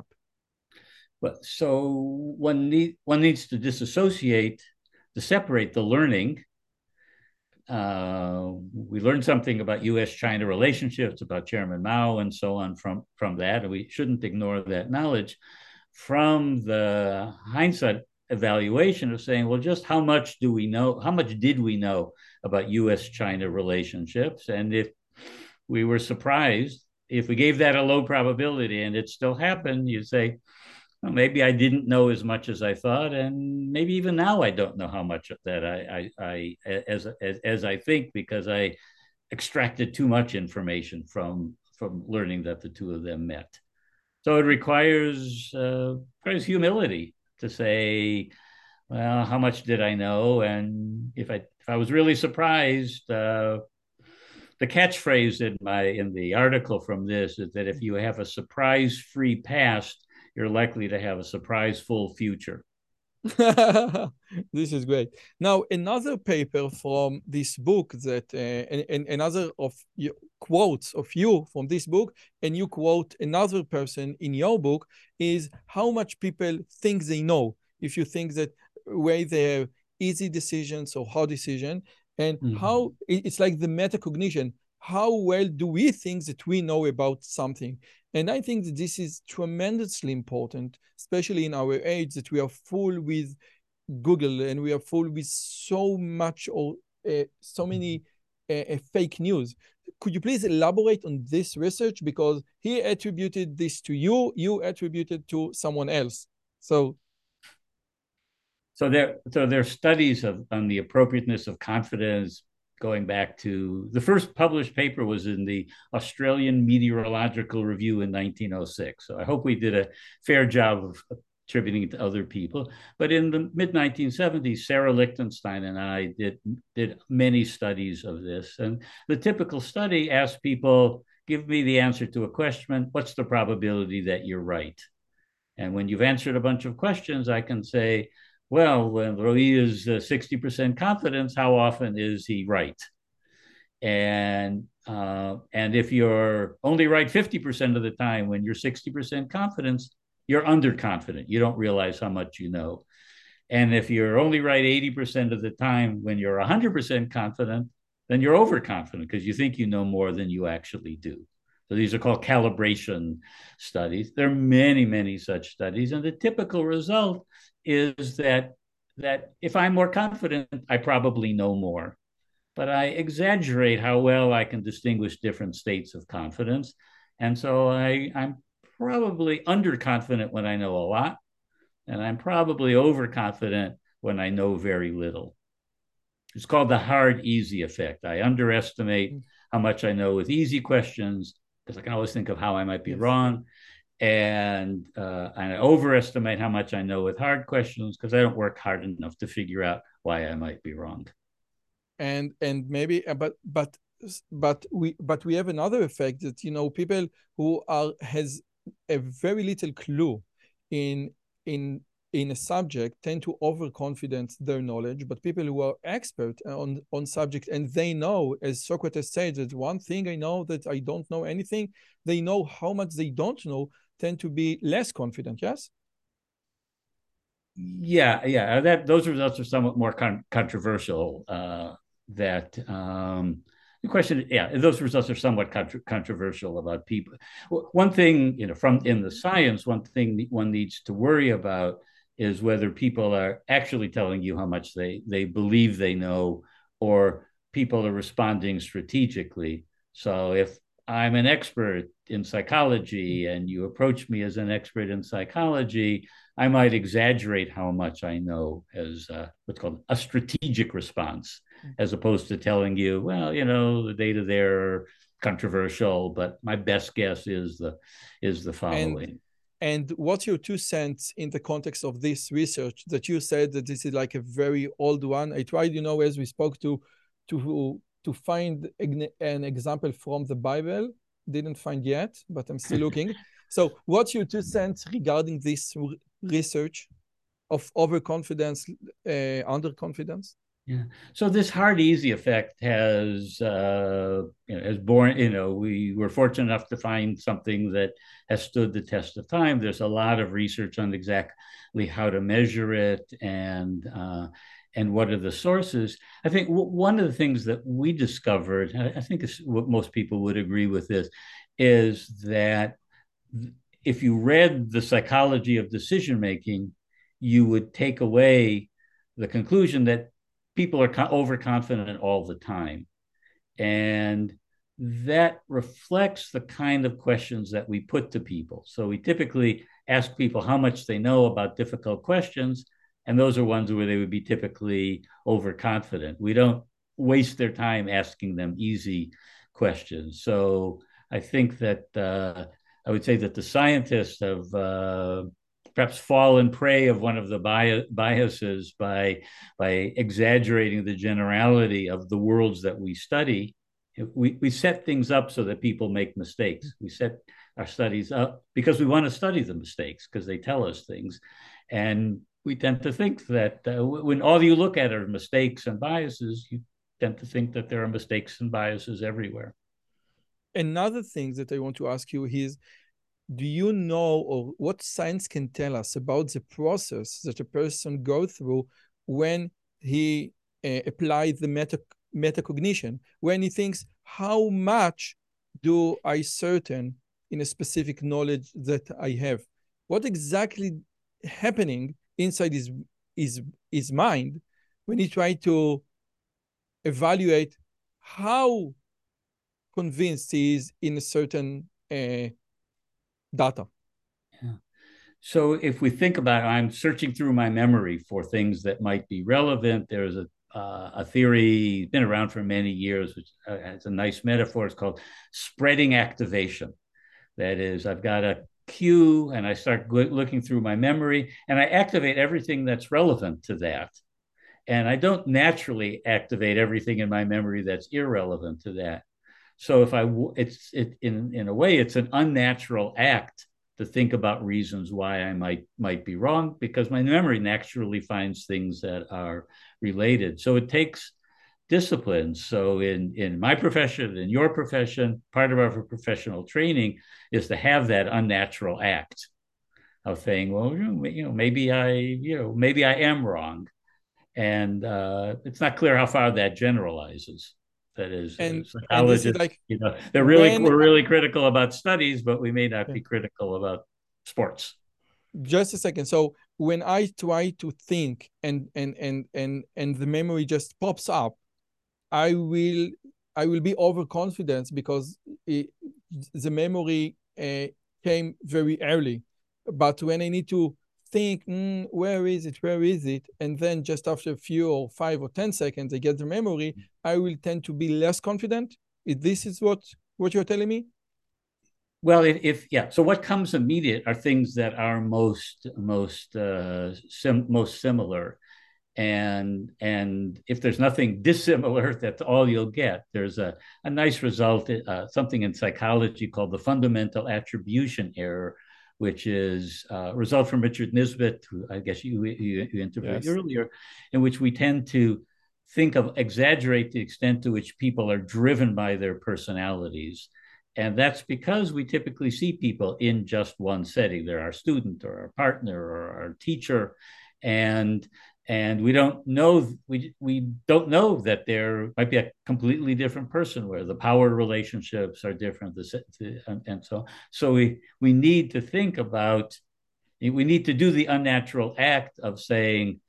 But so one need one needs to disassociate, to separate the learning. Uh, we learned something about U S China relationships, about Chairman Mao, and so on from from that, and we shouldn't ignore that knowledge from the hindsight evaluation of saying, well, just how much do we know? How much did we know about U S China relationships? And if we were surprised, if we gave that a low probability and it still happened, you say, well, maybe I didn't know as much as I thought, and maybe even now I don't know how much of that I, I, I as, as as I think, because I extracted too much information from from learning that the two of them met. So it requires uh, requires humility to say, well, how much did I know? And if I if I was really surprised, uh, the catchphrase in my in the article from this is that if you have a surprise-free past, you're likely to have a surprise-full future. This is great. Now, another paper from this book that, uh, and, and another of your quotes of you from this book, and you quote another person in your book, is how much people think they know. If you think that way they have easy decisions or hard decision, and Mhm. how it's like the metacognition. How well do we think that we know about something? And I think that this is tremendously important, especially in our age, that we are full with Google and we are full with so much or uh, so many uh, uh, fake news. Could you please elaborate on this research? Because he attributed this to you, you attributed to someone else. So So there, so there are studies of on the appropriateness of confidence going back to the first published paper was in the Australian Meteorological Review in nineteen oh six. So I hope we did a fair job of attributing it to other people. But in the mid nineteen seventies, Sarah Lichtenstein and I did did many studies of this. And the typical study asked people, give me the answer to a question. What's the probability that you're right? And when you've answered a bunch of questions, I can say, well, when Roy is uh, sixty percent confidence, how often is he right? And uh, and if you're only right fifty percent of the time when you're sixty percent confidence, you're underconfident. You don't realize how much you know. And if you're only right eighty percent of the time when you're one hundred percent confident, then you're overconfident because you think you know more than you actually do. So these are called calibration studies. There are many, many such studies. And the typical result is that, that if I'm more confident, I probably know more. But I exaggerate how well I can distinguish different states of confidence. And so I, I'm probably underconfident when I know a lot, and I'm probably overconfident when I know very little. It's called the hard, easy effect. I underestimate how much I know with easy questions because I can always think of how I might be yes. wrong. And, uh, and I overestimate how much I know with hard questions because I don't work hard enough to figure out why I might be wrong. And and maybe, but but but we but we have another effect that, you know, people who are has a very little clue in in in a subject tend to overconfidence their knowledge, but people who are expert on on subject and they know, as Socrates said, that one thing I know that I don't know anything, they know how much they don't know, tend to be less confident. Yes. Yeah, yeah. That those results are somewhat more con- controversial. Uh, that um, the question, yeah, those results are somewhat contra- controversial about people. One thing, you know, from in the science, one thing one needs to worry about is whether people are actually telling you how much they they believe they know, or people are responding strategically. So if I'm an expert in psychology and you approach me as an expert in psychology, I might exaggerate how much I know as uh, what's called a strategic response, as opposed to telling you, well, you know, the data there are controversial, but my best guess is the is the following. And and what's your two cents in the context of this research that you said that this is like a very old one? I tried, you know, as we spoke to to to find an example from the Bible. Didn't find yet, but I'm still looking. So what's your two cents regarding this research of overconfidence, uh, underconfidence? Yeah. So this hard, easy effect has, uh, you know, has born, you know, we were fortunate enough to find something that has stood the test of time. There's a lot of research on exactly how to measure it and, uh, and what are the sources. I think w- one of the things that we discovered, I think it's what most people would agree with this, is that if you read The Psychology of Decision Making, you would take away the conclusion that people are overconfident all the time. And that reflects the kind of questions that we put to people. So we typically ask people how much they know about difficult questions, and those are ones where they would be typically overconfident. We don't waste their time asking them easy questions. So I think that uh, I would say that the scientists have uh, perhaps fallen prey of one of the biases by by exaggerating the generality of the worlds that we study. We, we set things up so that people make mistakes. We set our studies up because we want to study the mistakes because they tell us things. And we tend to think that uh, when all you look at are mistakes and biases, you tend to think that there are mistakes and biases everywhere. Another thing that I want to ask you is, do you know, or what science can tell us about the process that a person goes through when he uh, applies the meta metacognition, when he thinks, how much do I certain in a specific knowledge that I have? What exactly happening inside his, his, his mind when he try to evaluate how convinced he is in a certain uh, data? Yeah. So if we think about it, I'm searching through my memory for things that might be relevant. There's a uh, a theory been around for many years, which uh, has a nice metaphor. It's called spreading activation. That is, I've got a cue and I start looking through my memory and I activate everything that's relevant to that. And I don't naturally activate everything in my memory that's irrelevant to that. So if I, it's it in in a way, it's an unnatural act to think about reasons why I might might be wrong, because my memory naturally finds things that are related. So it takes discipline. So in in my profession, in your profession, part of our professional training is to have that unnatural act of saying, well, you know, maybe I, you know, maybe I am wrong, and uh, it's not clear how far that generalizes. That is, uh, And and this is psychologists, like, you know, they're really when, we're really critical about studies, but we may not yeah, be critical about sports. just a second. So when I try to think and and and and and the memory just pops up, I will I will be overconfident because it, the memory uh, came very early. But when I need to think, mm, where is it, where is it, and then just after a few or five or ten seconds, I get the memory, I will tend to be less confident. If this is what what you're telling me? Well, if, if yeah, so what comes immediate are things that are most most uh, sim, most similar, and and if there's nothing dissimilar, that's all you'll get. There's a, a nice result, uh, something in psychology called the fundamental attribution error, which is uh, a result from Richard Nisbett, who I guess you, you, you interviewed Yes. earlier, in which we tend to think of, exaggerate the extent to which people are driven by their personalities. And that's because we typically see people in just one setting. They're our student or our partner or our teacher. And and we don't know we we don't know that there might be a completely different person where the power relationships are different, the, and, and so so we we need to think about, we need to do the unnatural act of saying,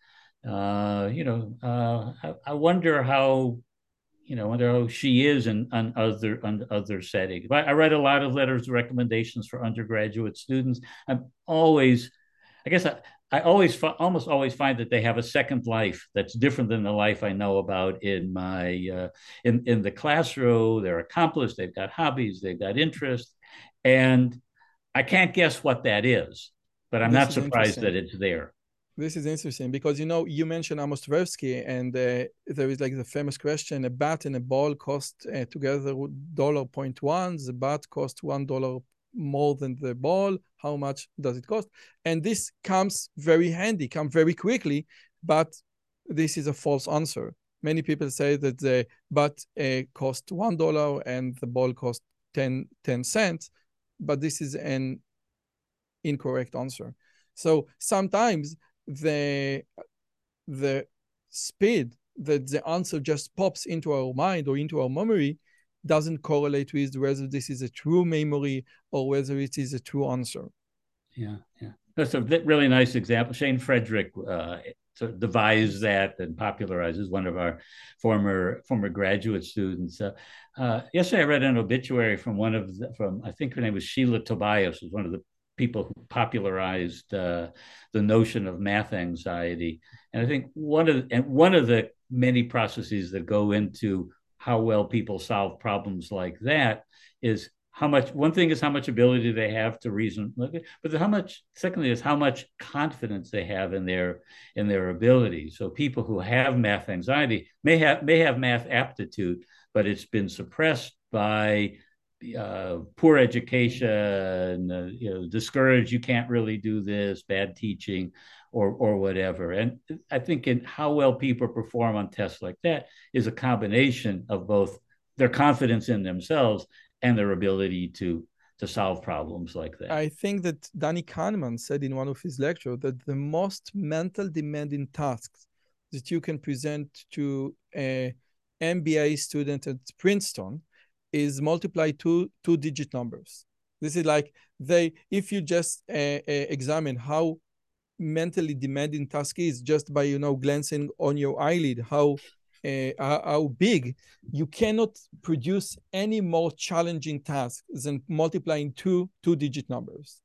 uh, you know, uh, I, I wonder how, you know, I wonder how she is in on other on other settings. I, I write a lot of letters of recommendations for undergraduate students. I'm always, I guess I, I always almost always find that they have a second life that's different than the life I know about in my uh, in in the classroom. They're accomplished. They've got hobbies. They've got interests, and I can't guess what that is, but I'm This not is surprised interesting. that it's there. This is interesting because, you know, you mentioned Amos Tversky, and uh, there is like the famous question: a bat and a ball cost uh, together dollar point one. The bat cost one dollar more than the ball. How much does it cost? And this comes very handy, come very quickly, but this is a false answer. Many people say that the bat uh, cost one dollar and the ball cost ten, ten cents, but this is an incorrect answer. So sometimes the the speed that the answer just pops into our mind or into our memory doesn't correlate with whether this is a true memory or whether it is a true answer. Yeah, yeah. That's a really nice example. Shane Frederick uh, sort of devised that and popularizes, one of our former former graduate students. Uh, uh, yesterday, I read an obituary from one of the, from I think her name was Sheila Tobias, was one of the people who popularized uh, the notion of math anxiety. And I think one of and one of the many processes that go into how well people solve problems like that is how much, one thing is how much ability they have to reason, but how much, secondly, is how much confidence they have in their in their ability. So people who have math anxiety may have may have math aptitude, but it's been suppressed by uh, poor education, uh, you know, discouraged, you can't really do this, bad teaching, or or whatever. And I think in how well people perform on tests like that is a combination of both their confidence in themselves and their ability to to solve problems like that. I think that Danny Kahneman said in one of his lectures that the most mental demanding tasks that you can present to a M B A student at Princeton is multiply two two digit numbers. This is like they, if you just uh, uh, examine how mentally demanding task is just by, you know, glancing on your eyelid, how uh, how big, you cannot produce any more challenging task than multiplying two two digit numbers.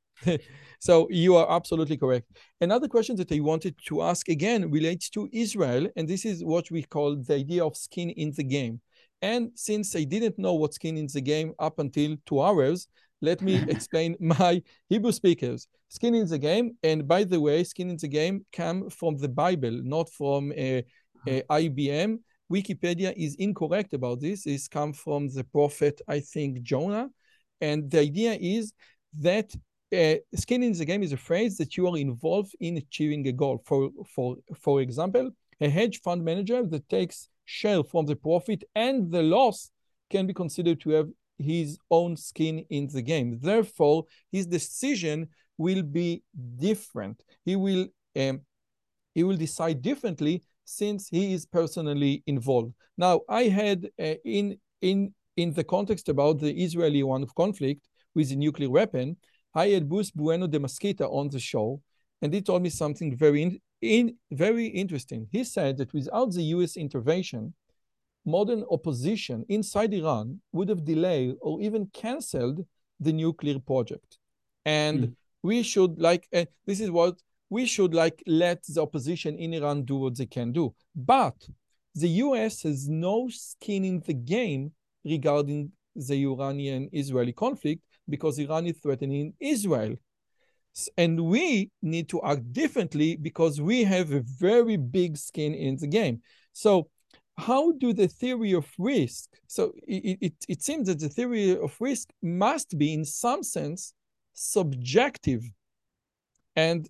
So you are absolutely correct. Another question that I wanted to ask again relates to Israel, and this is what we call the idea of skin in the game. And since I didn't know what skin in the game up until two hours, let me explain my Hebrew speakers. Skin in the game, and by the way, skin in the game come from the Bible, not from a, a I B M. Wikipedia is incorrect about this. It's come from the prophet, I think, Jonah. And the idea is that uh, skin in the game is a phrase that you are involved in achieving a goal. For, for, for example, a hedge fund manager that takes share from the profit and the loss can be considered to have his own skin in the game. Therefore, his decision will be different. He will um, he will decide differently since he is personally involved. Now, I had uh, in in in the context about the Israeli one of conflict with the nuclear weapon, I had Bruce Bueno de Mesquita on the show, and he told me something very in, in very interesting. He said that without the U S intervention, modern opposition inside Iran would have delayed or even canceled the nuclear project. And mm. we should like, uh, this is what, we should like let the opposition in Iran do what they can do. But the U S has no skin in the game regarding the Iranian-Israeli conflict because Iran is threatening Israel. And we need to act differently because we have a very big skin in the game. So how do the theory of risk, so it, it, it seems that the theory of risk must be in some sense subjective. And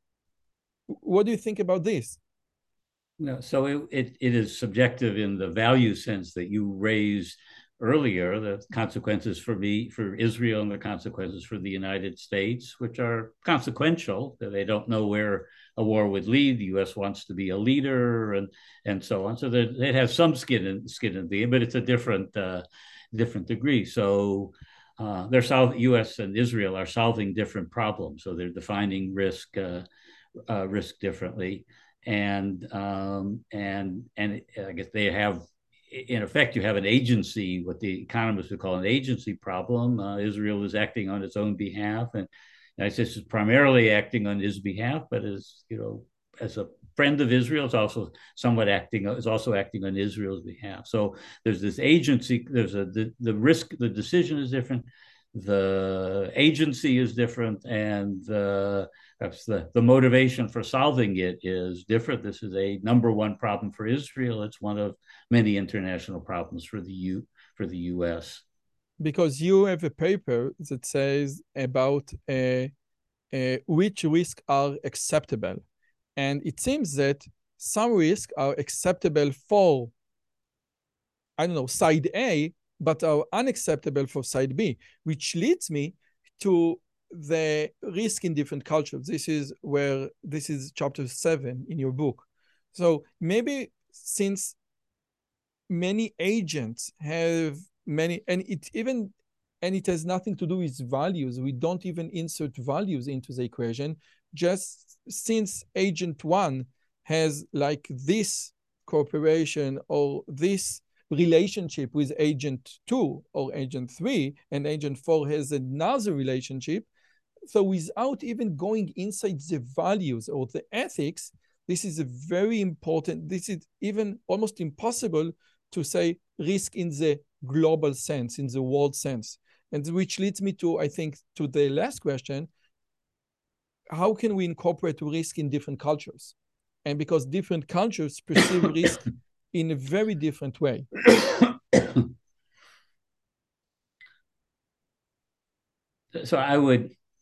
what do you think about this? No, so it, it, it is subjective in the value sense that you raised earlier, the consequences for me, for Israel, and the consequences for the United States, which are consequential. They don't know where a war would lead. The U S wants to be a leader, and and so on. So that it has some skin in skin in the game, but it's a different uh, different degree. So uh, they're solving, U S and Israel are solving different problems. So they're defining risk uh, uh, risk differently, and um, and and I guess they have. In effect, you have an agency, what the economists would call an agency problem. Uh, Israel is acting on its own behalf, and ISIS is primarily acting on his behalf, but as you know, as a friend of Israel, it's also somewhat acting is also acting on Israel's behalf. So there's this agency. There's a the, the risk. The decision is different. The agency is different, and the perhaps the, the motivation for solving it is different. This is a number one problem for Israel. It's one of many international problems for the U for the U S. Because you have a paper that says about uh, uh, which risks are acceptable. And it seems that some risks are acceptable for, I don't know, side A, but are unacceptable for side B, which leads me to the risk in different cultures. This is where, this is chapter seven in your book. So maybe since many agents have many, and it even, and it has nothing to do with values. We don't even insert values into the equation. Just since agent one has like this cooperation or this relationship with agent two or agent three, and agent four has another relationship. So without even going inside the values or the ethics, this is a very important, this is even almost impossible to say risk in the global sense, in the world sense. And which leads me to, I think, to the last question. How can we incorporate risk in different cultures? And because different cultures perceive risk in a very different way. So I would,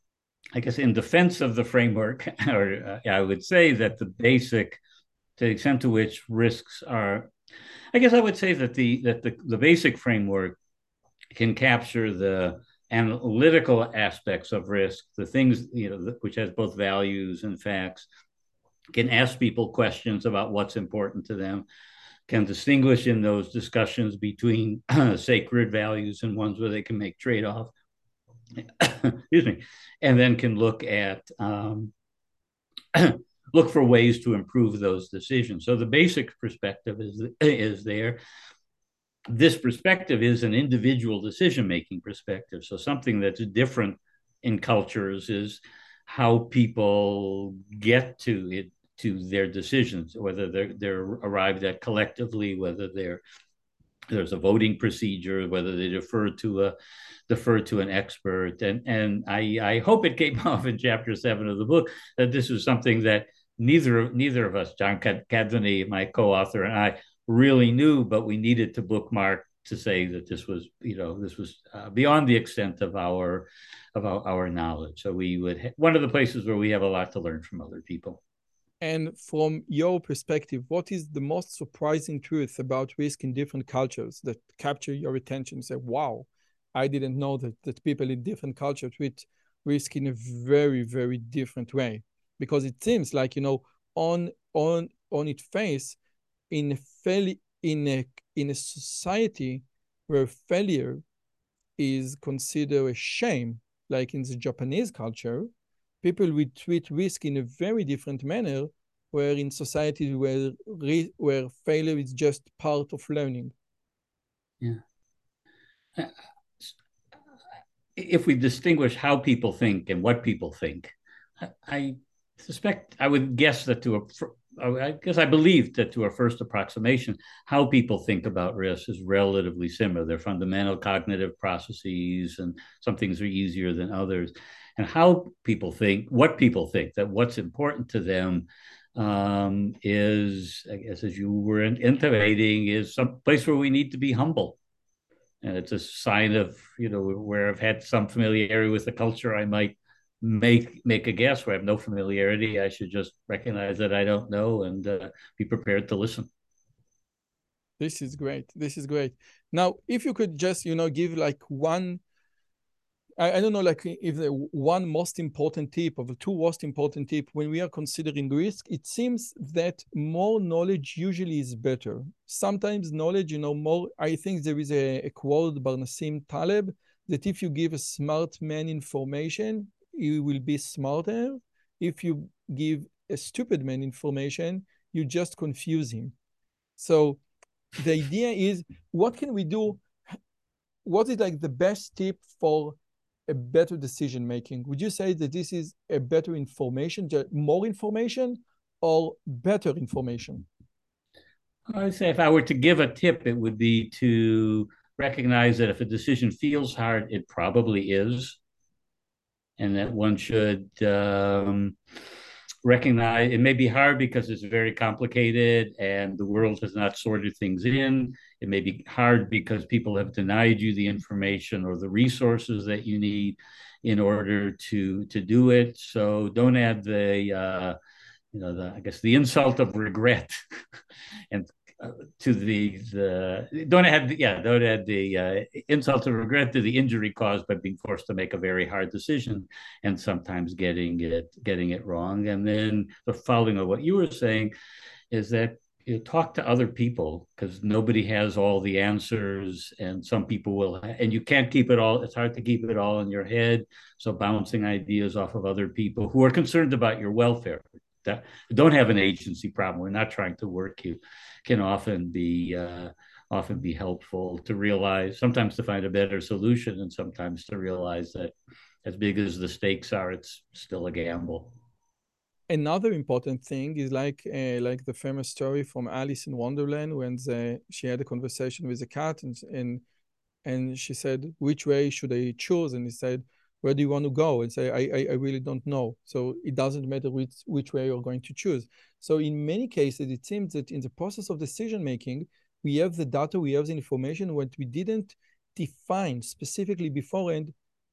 I guess in defense of the framework, or uh, I would say that the basic, to the extent to which risks are, I guess I would say that the that the, the basic framework can capture the analytical aspects of risk, the things, you know, which has both values and facts, can ask people questions about what's important to them, can distinguish in those discussions between sacred values and ones where they can make trade-off. Excuse me, and then can look at um, look for ways to improve those decisions. So the basic perspective is is there. This perspective is an individual decision-making perspective. So something that's different in cultures is how people get to it, to their decisions, whether they're they're arrived at collectively, whether they're there's a voting procedure, whether they defer to a defer to an expert. And and I, I hope it came off in chapter seven of the book that this is something that neither neither of us, John Cadvany, my co-author, and I really knew, but we needed to bookmark to say that this was, you know, this was uh, beyond the extent of our of our, our knowledge. So we would ha- one of the places where we have a lot to learn from other people. And from your perspective, what is the most surprising truth about risk in different cultures that capture your attention? Say, wow, I didn't know that, that people in different cultures treat risk in a very, very different way. Because it seems like, you know, on on on its face, in a fail, in a in a society where failure is considered a shame, like in the Japanese culture, people will treat risk in a very different manner, where in societies where where failure is just part of learning. Yeah. If we distinguish how people think and what people think, I suspect, I would guess that to a, I guess I believe that to a first approximation, how people think about risk is relatively similar. They're fundamental cognitive processes, and some things are easier than others. And how people think, what people think, that what's important to them um, is, I guess, as you were intimating, is some place where we need to be humble. And it's a sign of, you know, where I've had some familiarity with the culture, I might make make a guess. Where I have no familiarity, I should just recognize that I don't know and uh, be prepared to listen. This is great. This is great. Now, if you could just, you know, give like one, I, I don't know, like if the one most important tip, or the two most important tip when we are considering risk, it seems that more knowledge usually is better. Sometimes knowledge, you know, more, I think there is a, a quote by Nassim Taleb that if you give a smart man information, he will be smarter. If you give a stupid man information, you just confuse him. So the idea is, what can we do? What is like the best tip for a better decision making? Would you say that this is a better information, more information, or better information? I would say if I were to give a tip, it would be to recognize that if a decision feels hard, it probably is. And that one should um, recognize it may be hard because it's very complicated and the world has not sorted things in. It may be hard because people have denied you the information or the resources that you need in order to to do it. So don't add the uh, you know the I guess the insult of regret and uh, to the the don't add the, yeah don't add the uh, insult of regret to the injury caused by being forced to make a very hard decision and sometimes getting it getting it wrong. And then the following of what you were saying is that you talk to other people, because nobody has all the answers, and some people will, and you can't keep it all. It's hard to keep it all in your head. So bouncing ideas off of other people who are concerned about your welfare, that don't have an agency problem, we're not trying to work you, can often be uh, often be helpful to realize, sometimes to find a better solution, and sometimes to realize that as big as the stakes are, it's still a gamble. Another important thing is like uh, like the famous story from Alice in Wonderland, when the, she had a conversation with the cat, and, and and she said, which way should I choose? And he said, where do you want to go? And say, I, I, I really don't know. So it doesn't matter which, which way you're going to choose. So in many cases, it seems that in the process of decision making, we have the data, we have the information, what we didn't define specifically beforehand,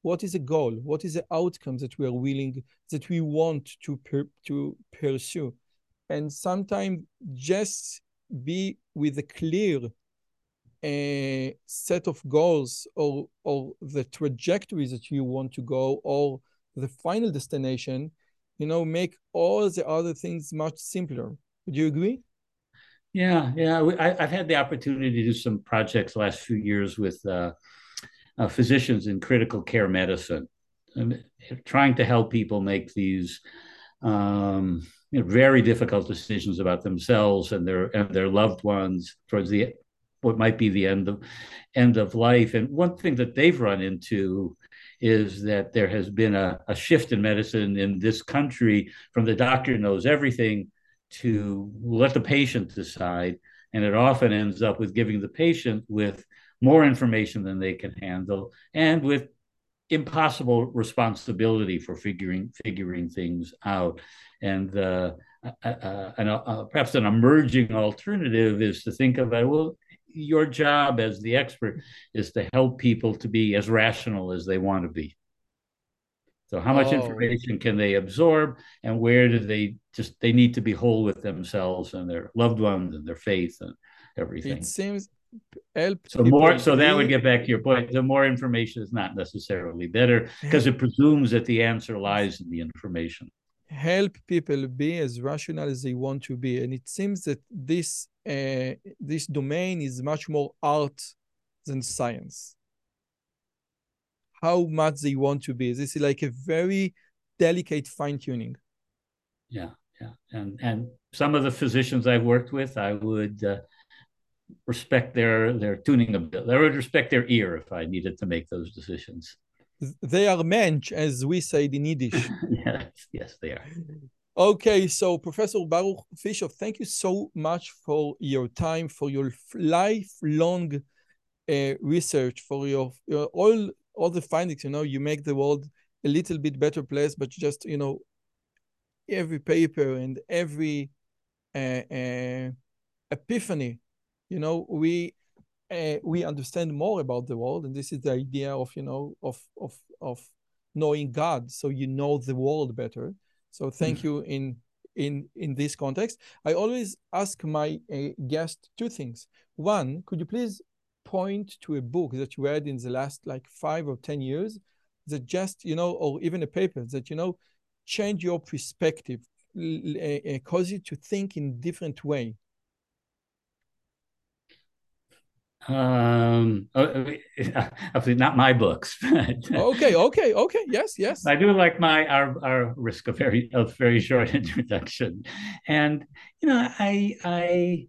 what is a goal? What is the outcome that we are willing, that we want to per, to pursue? And sometimes just be with a clear uh, set of goals, or or the trajectory that you want to go, or the final destination, you know, make all the other things much simpler. Would you agree? Yeah, yeah. I, I've had the opportunity to do some projects the last few years with uh, uh, physicians in critical care medicine, and trying to help people make these um, you know, very difficult decisions about themselves and their and their loved ones towards the what might be the end of end of life. And one thing that they've run into is that there has been a, a shift in medicine in this country from the doctor knows everything to let the patient decide. And it often ends up with giving the patient with more information than they can handle and with impossible responsibility for figuring figuring things out. And uh, uh, uh, and uh, perhaps an emerging alternative is to think about, well, your job as the expert is to help people to be as rational as they want to be. So how much Oh, information can they absorb, and where do they just they need to be whole with themselves and their loved ones and their faith and it everything. seems help So more, people so that would be get back to your point. The more information is not necessarily better because it presumes that the answer lies in the information. help people be as rational as they want to be. And it seems that this uh, this domain is much more art than science. How much they want to be. This is like a very delicate fine tuning. Yeah, yeah, and and some of the physicians I've worked with, I would uh, respect their their tuning ability. I would respect their ear if I needed to make those decisions. They are mensch, as we say in Yiddish. Yes, yes, they are. Okay, so Professor Baruch Fisher, thank you so much for your time, for your lifelong uh, research, for your, your all all the findings. You know, you make the world a little bit better place, but just, you know, every paper and every uh, uh, epiphany, you know, we uh, we understand more about the world, and this is the idea of, you know, of of of knowing God, so you know the world better. So thank you in in in this context. I always ask my uh, guest two things. One, could you please point to a book that you read in the last like five or ten years that just, you know, or even a paper that, you know, change your perspective, uh, cause you to think in different way? Um, obviously not my books. Okay, okay, okay. Yes, yes. I do like my our our risk of very of very short introduction, and you know I I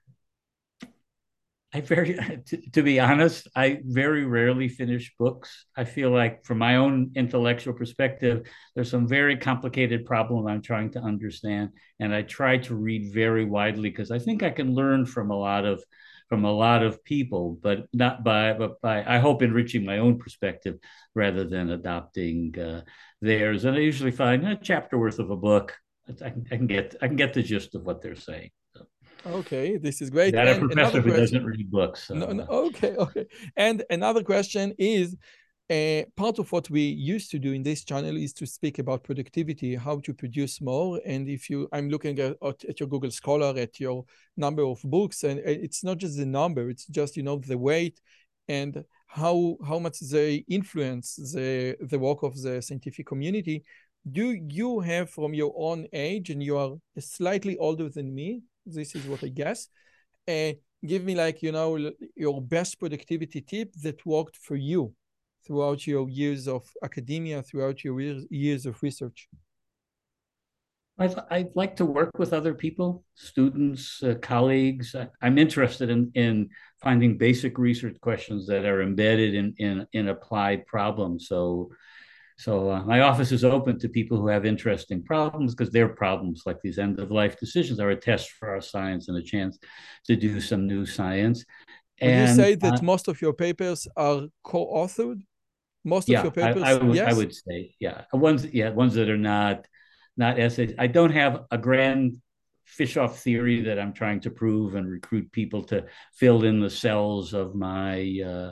I very to, to be honest, I very rarely finish books. I feel like from my own intellectual perspective, there's some very complicated problem I'm trying to understand, and I try to read very widely because I think I can learn from a lot of from a lot of people, but not by but by I hope enriching my own perspective rather than adopting uh, theirs. And I usually find a chapter worth of a book. I can, I can get I can get the gist of what they're saying. So. Okay, this is great. Got a And professor another who question. doesn't read books. So. No, no, okay, okay. And another question is, uh, part of what we used to do in this channel is to speak about productivity, how to produce more. And if you, I'm looking at, at your Google Scholar, at your number of books, and it's not just the number, it's just, you know, the weight and how how much they influence the the work of the scientific community. Do you have, from your own age, and you are slightly older than me, this is what I guess, uh, give me, like, you know, your best productivity tip that worked for you throughout your years of academia, throughout your years of research. I'd, I'd like to work with other people, students, uh, colleagues. I, I'm interested in, in finding basic research questions that are embedded in, in, in applied problems. So, so uh, my office is open to people who have interesting problems, because their problems, like these end-of-life decisions, are a test for our science and a chance to do some new science. Would you And say that uh, most of your papers are co-authored? Most of yeah, your I, I papers, would I yes? would say, yeah, ones yeah ones that are not not essays. I don't have a grand fish off theory that I'm trying to prove and recruit people to fill in the cells of my uh,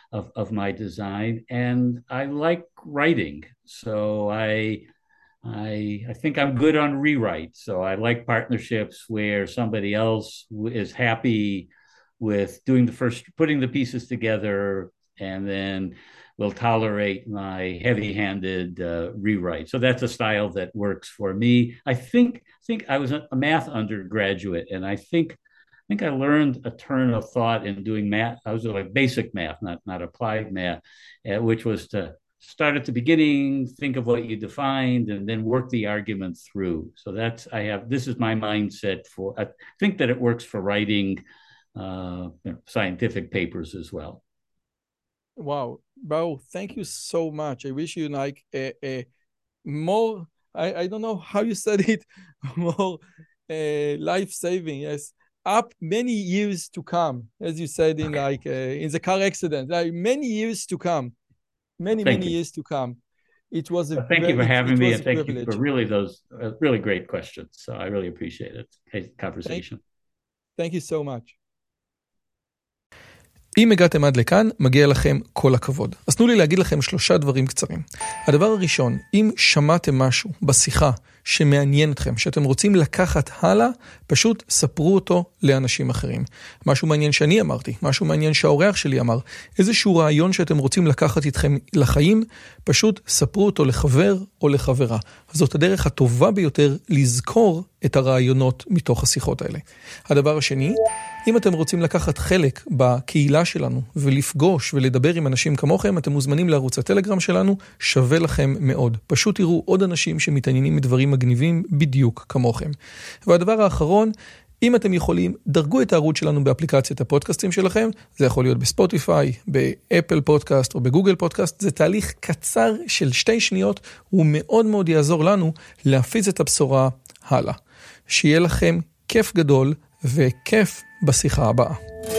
of, of my design. And I like writing. So I, I, I think I'm good on rewrite. So I like partnerships where somebody else is happy with doing the first, putting the pieces together, and then will tolerate my heavy-handed uh, rewrite. So that's a style that works for me. I think think I was a math undergraduate, and I think I think I learned a turn of thought in doing math. I was like basic math, not not applied math, uh, which was to start at the beginning, think of what you defined, and then work the argument through. So that's I have. This is my mindset for. I think that it works for writing uh, you know, scientific papers as well. Wow, Baruch, thank you so much. I wish you like a, a more, I, I don't know how you said it, more uh, life-saving, yes. Up many years to come, as you said in like, uh, in the car accident, like many years to come, many, thank many you. years to come. It was a well, Thank you for having it, it me, and thank privilege. you for really those uh, really great questions. So I really appreciate it, hey, conversation. Thank, thank you so much. אם הגעתם עד לכאן, מגיע לכם כל הכבוד. אז תנו לי להגיד לכם שלושה דברים קצרים. הדבר הראשון, אם שמעתם משהו בשיחה שמעניין אתכם, שאתם רוצים לקחת הלאה, פשוט ספרו אותו לאנשים אחרים. משהו מעניין שאני אמרתי, משהו מעניין שהאורח שלי אמר, איזשהו רעיון שאתם רוצים לקחת איתכם לחיים, פשוט ספרו אותו לחבר או לחברה. זאת הדרך הטובה ביותר לזכור את הרעיונות מתוך השיחות האלה. הדבר השני, אם אתם רוצים לקחת חלק בקהילה שלנו ולפגוש ולדבר עם אנשים כמוכם, אתם מוזמנים לערוץ הטלגרם שלנו, שווה לכם מאוד. פשוט תראו עוד אנשים שמתעניינים מדברים מגניבים בדיוק כמוכם. והדבר האחרון, אם אתם יכולים, דרגו את הערוץ שלנו באפליקציית הפודקאסטים שלכם, זה יכול להיות בספוטיפיי, באפל פודקאסט או בגוגל פודקאסט, זה תהליך קצר של שתי שניות, הוא מאוד מאוד יעזור לנו להפיץ את הבשורה הלאה. שיהיה לכם כיף גדול וכיף בשיחה הבאה.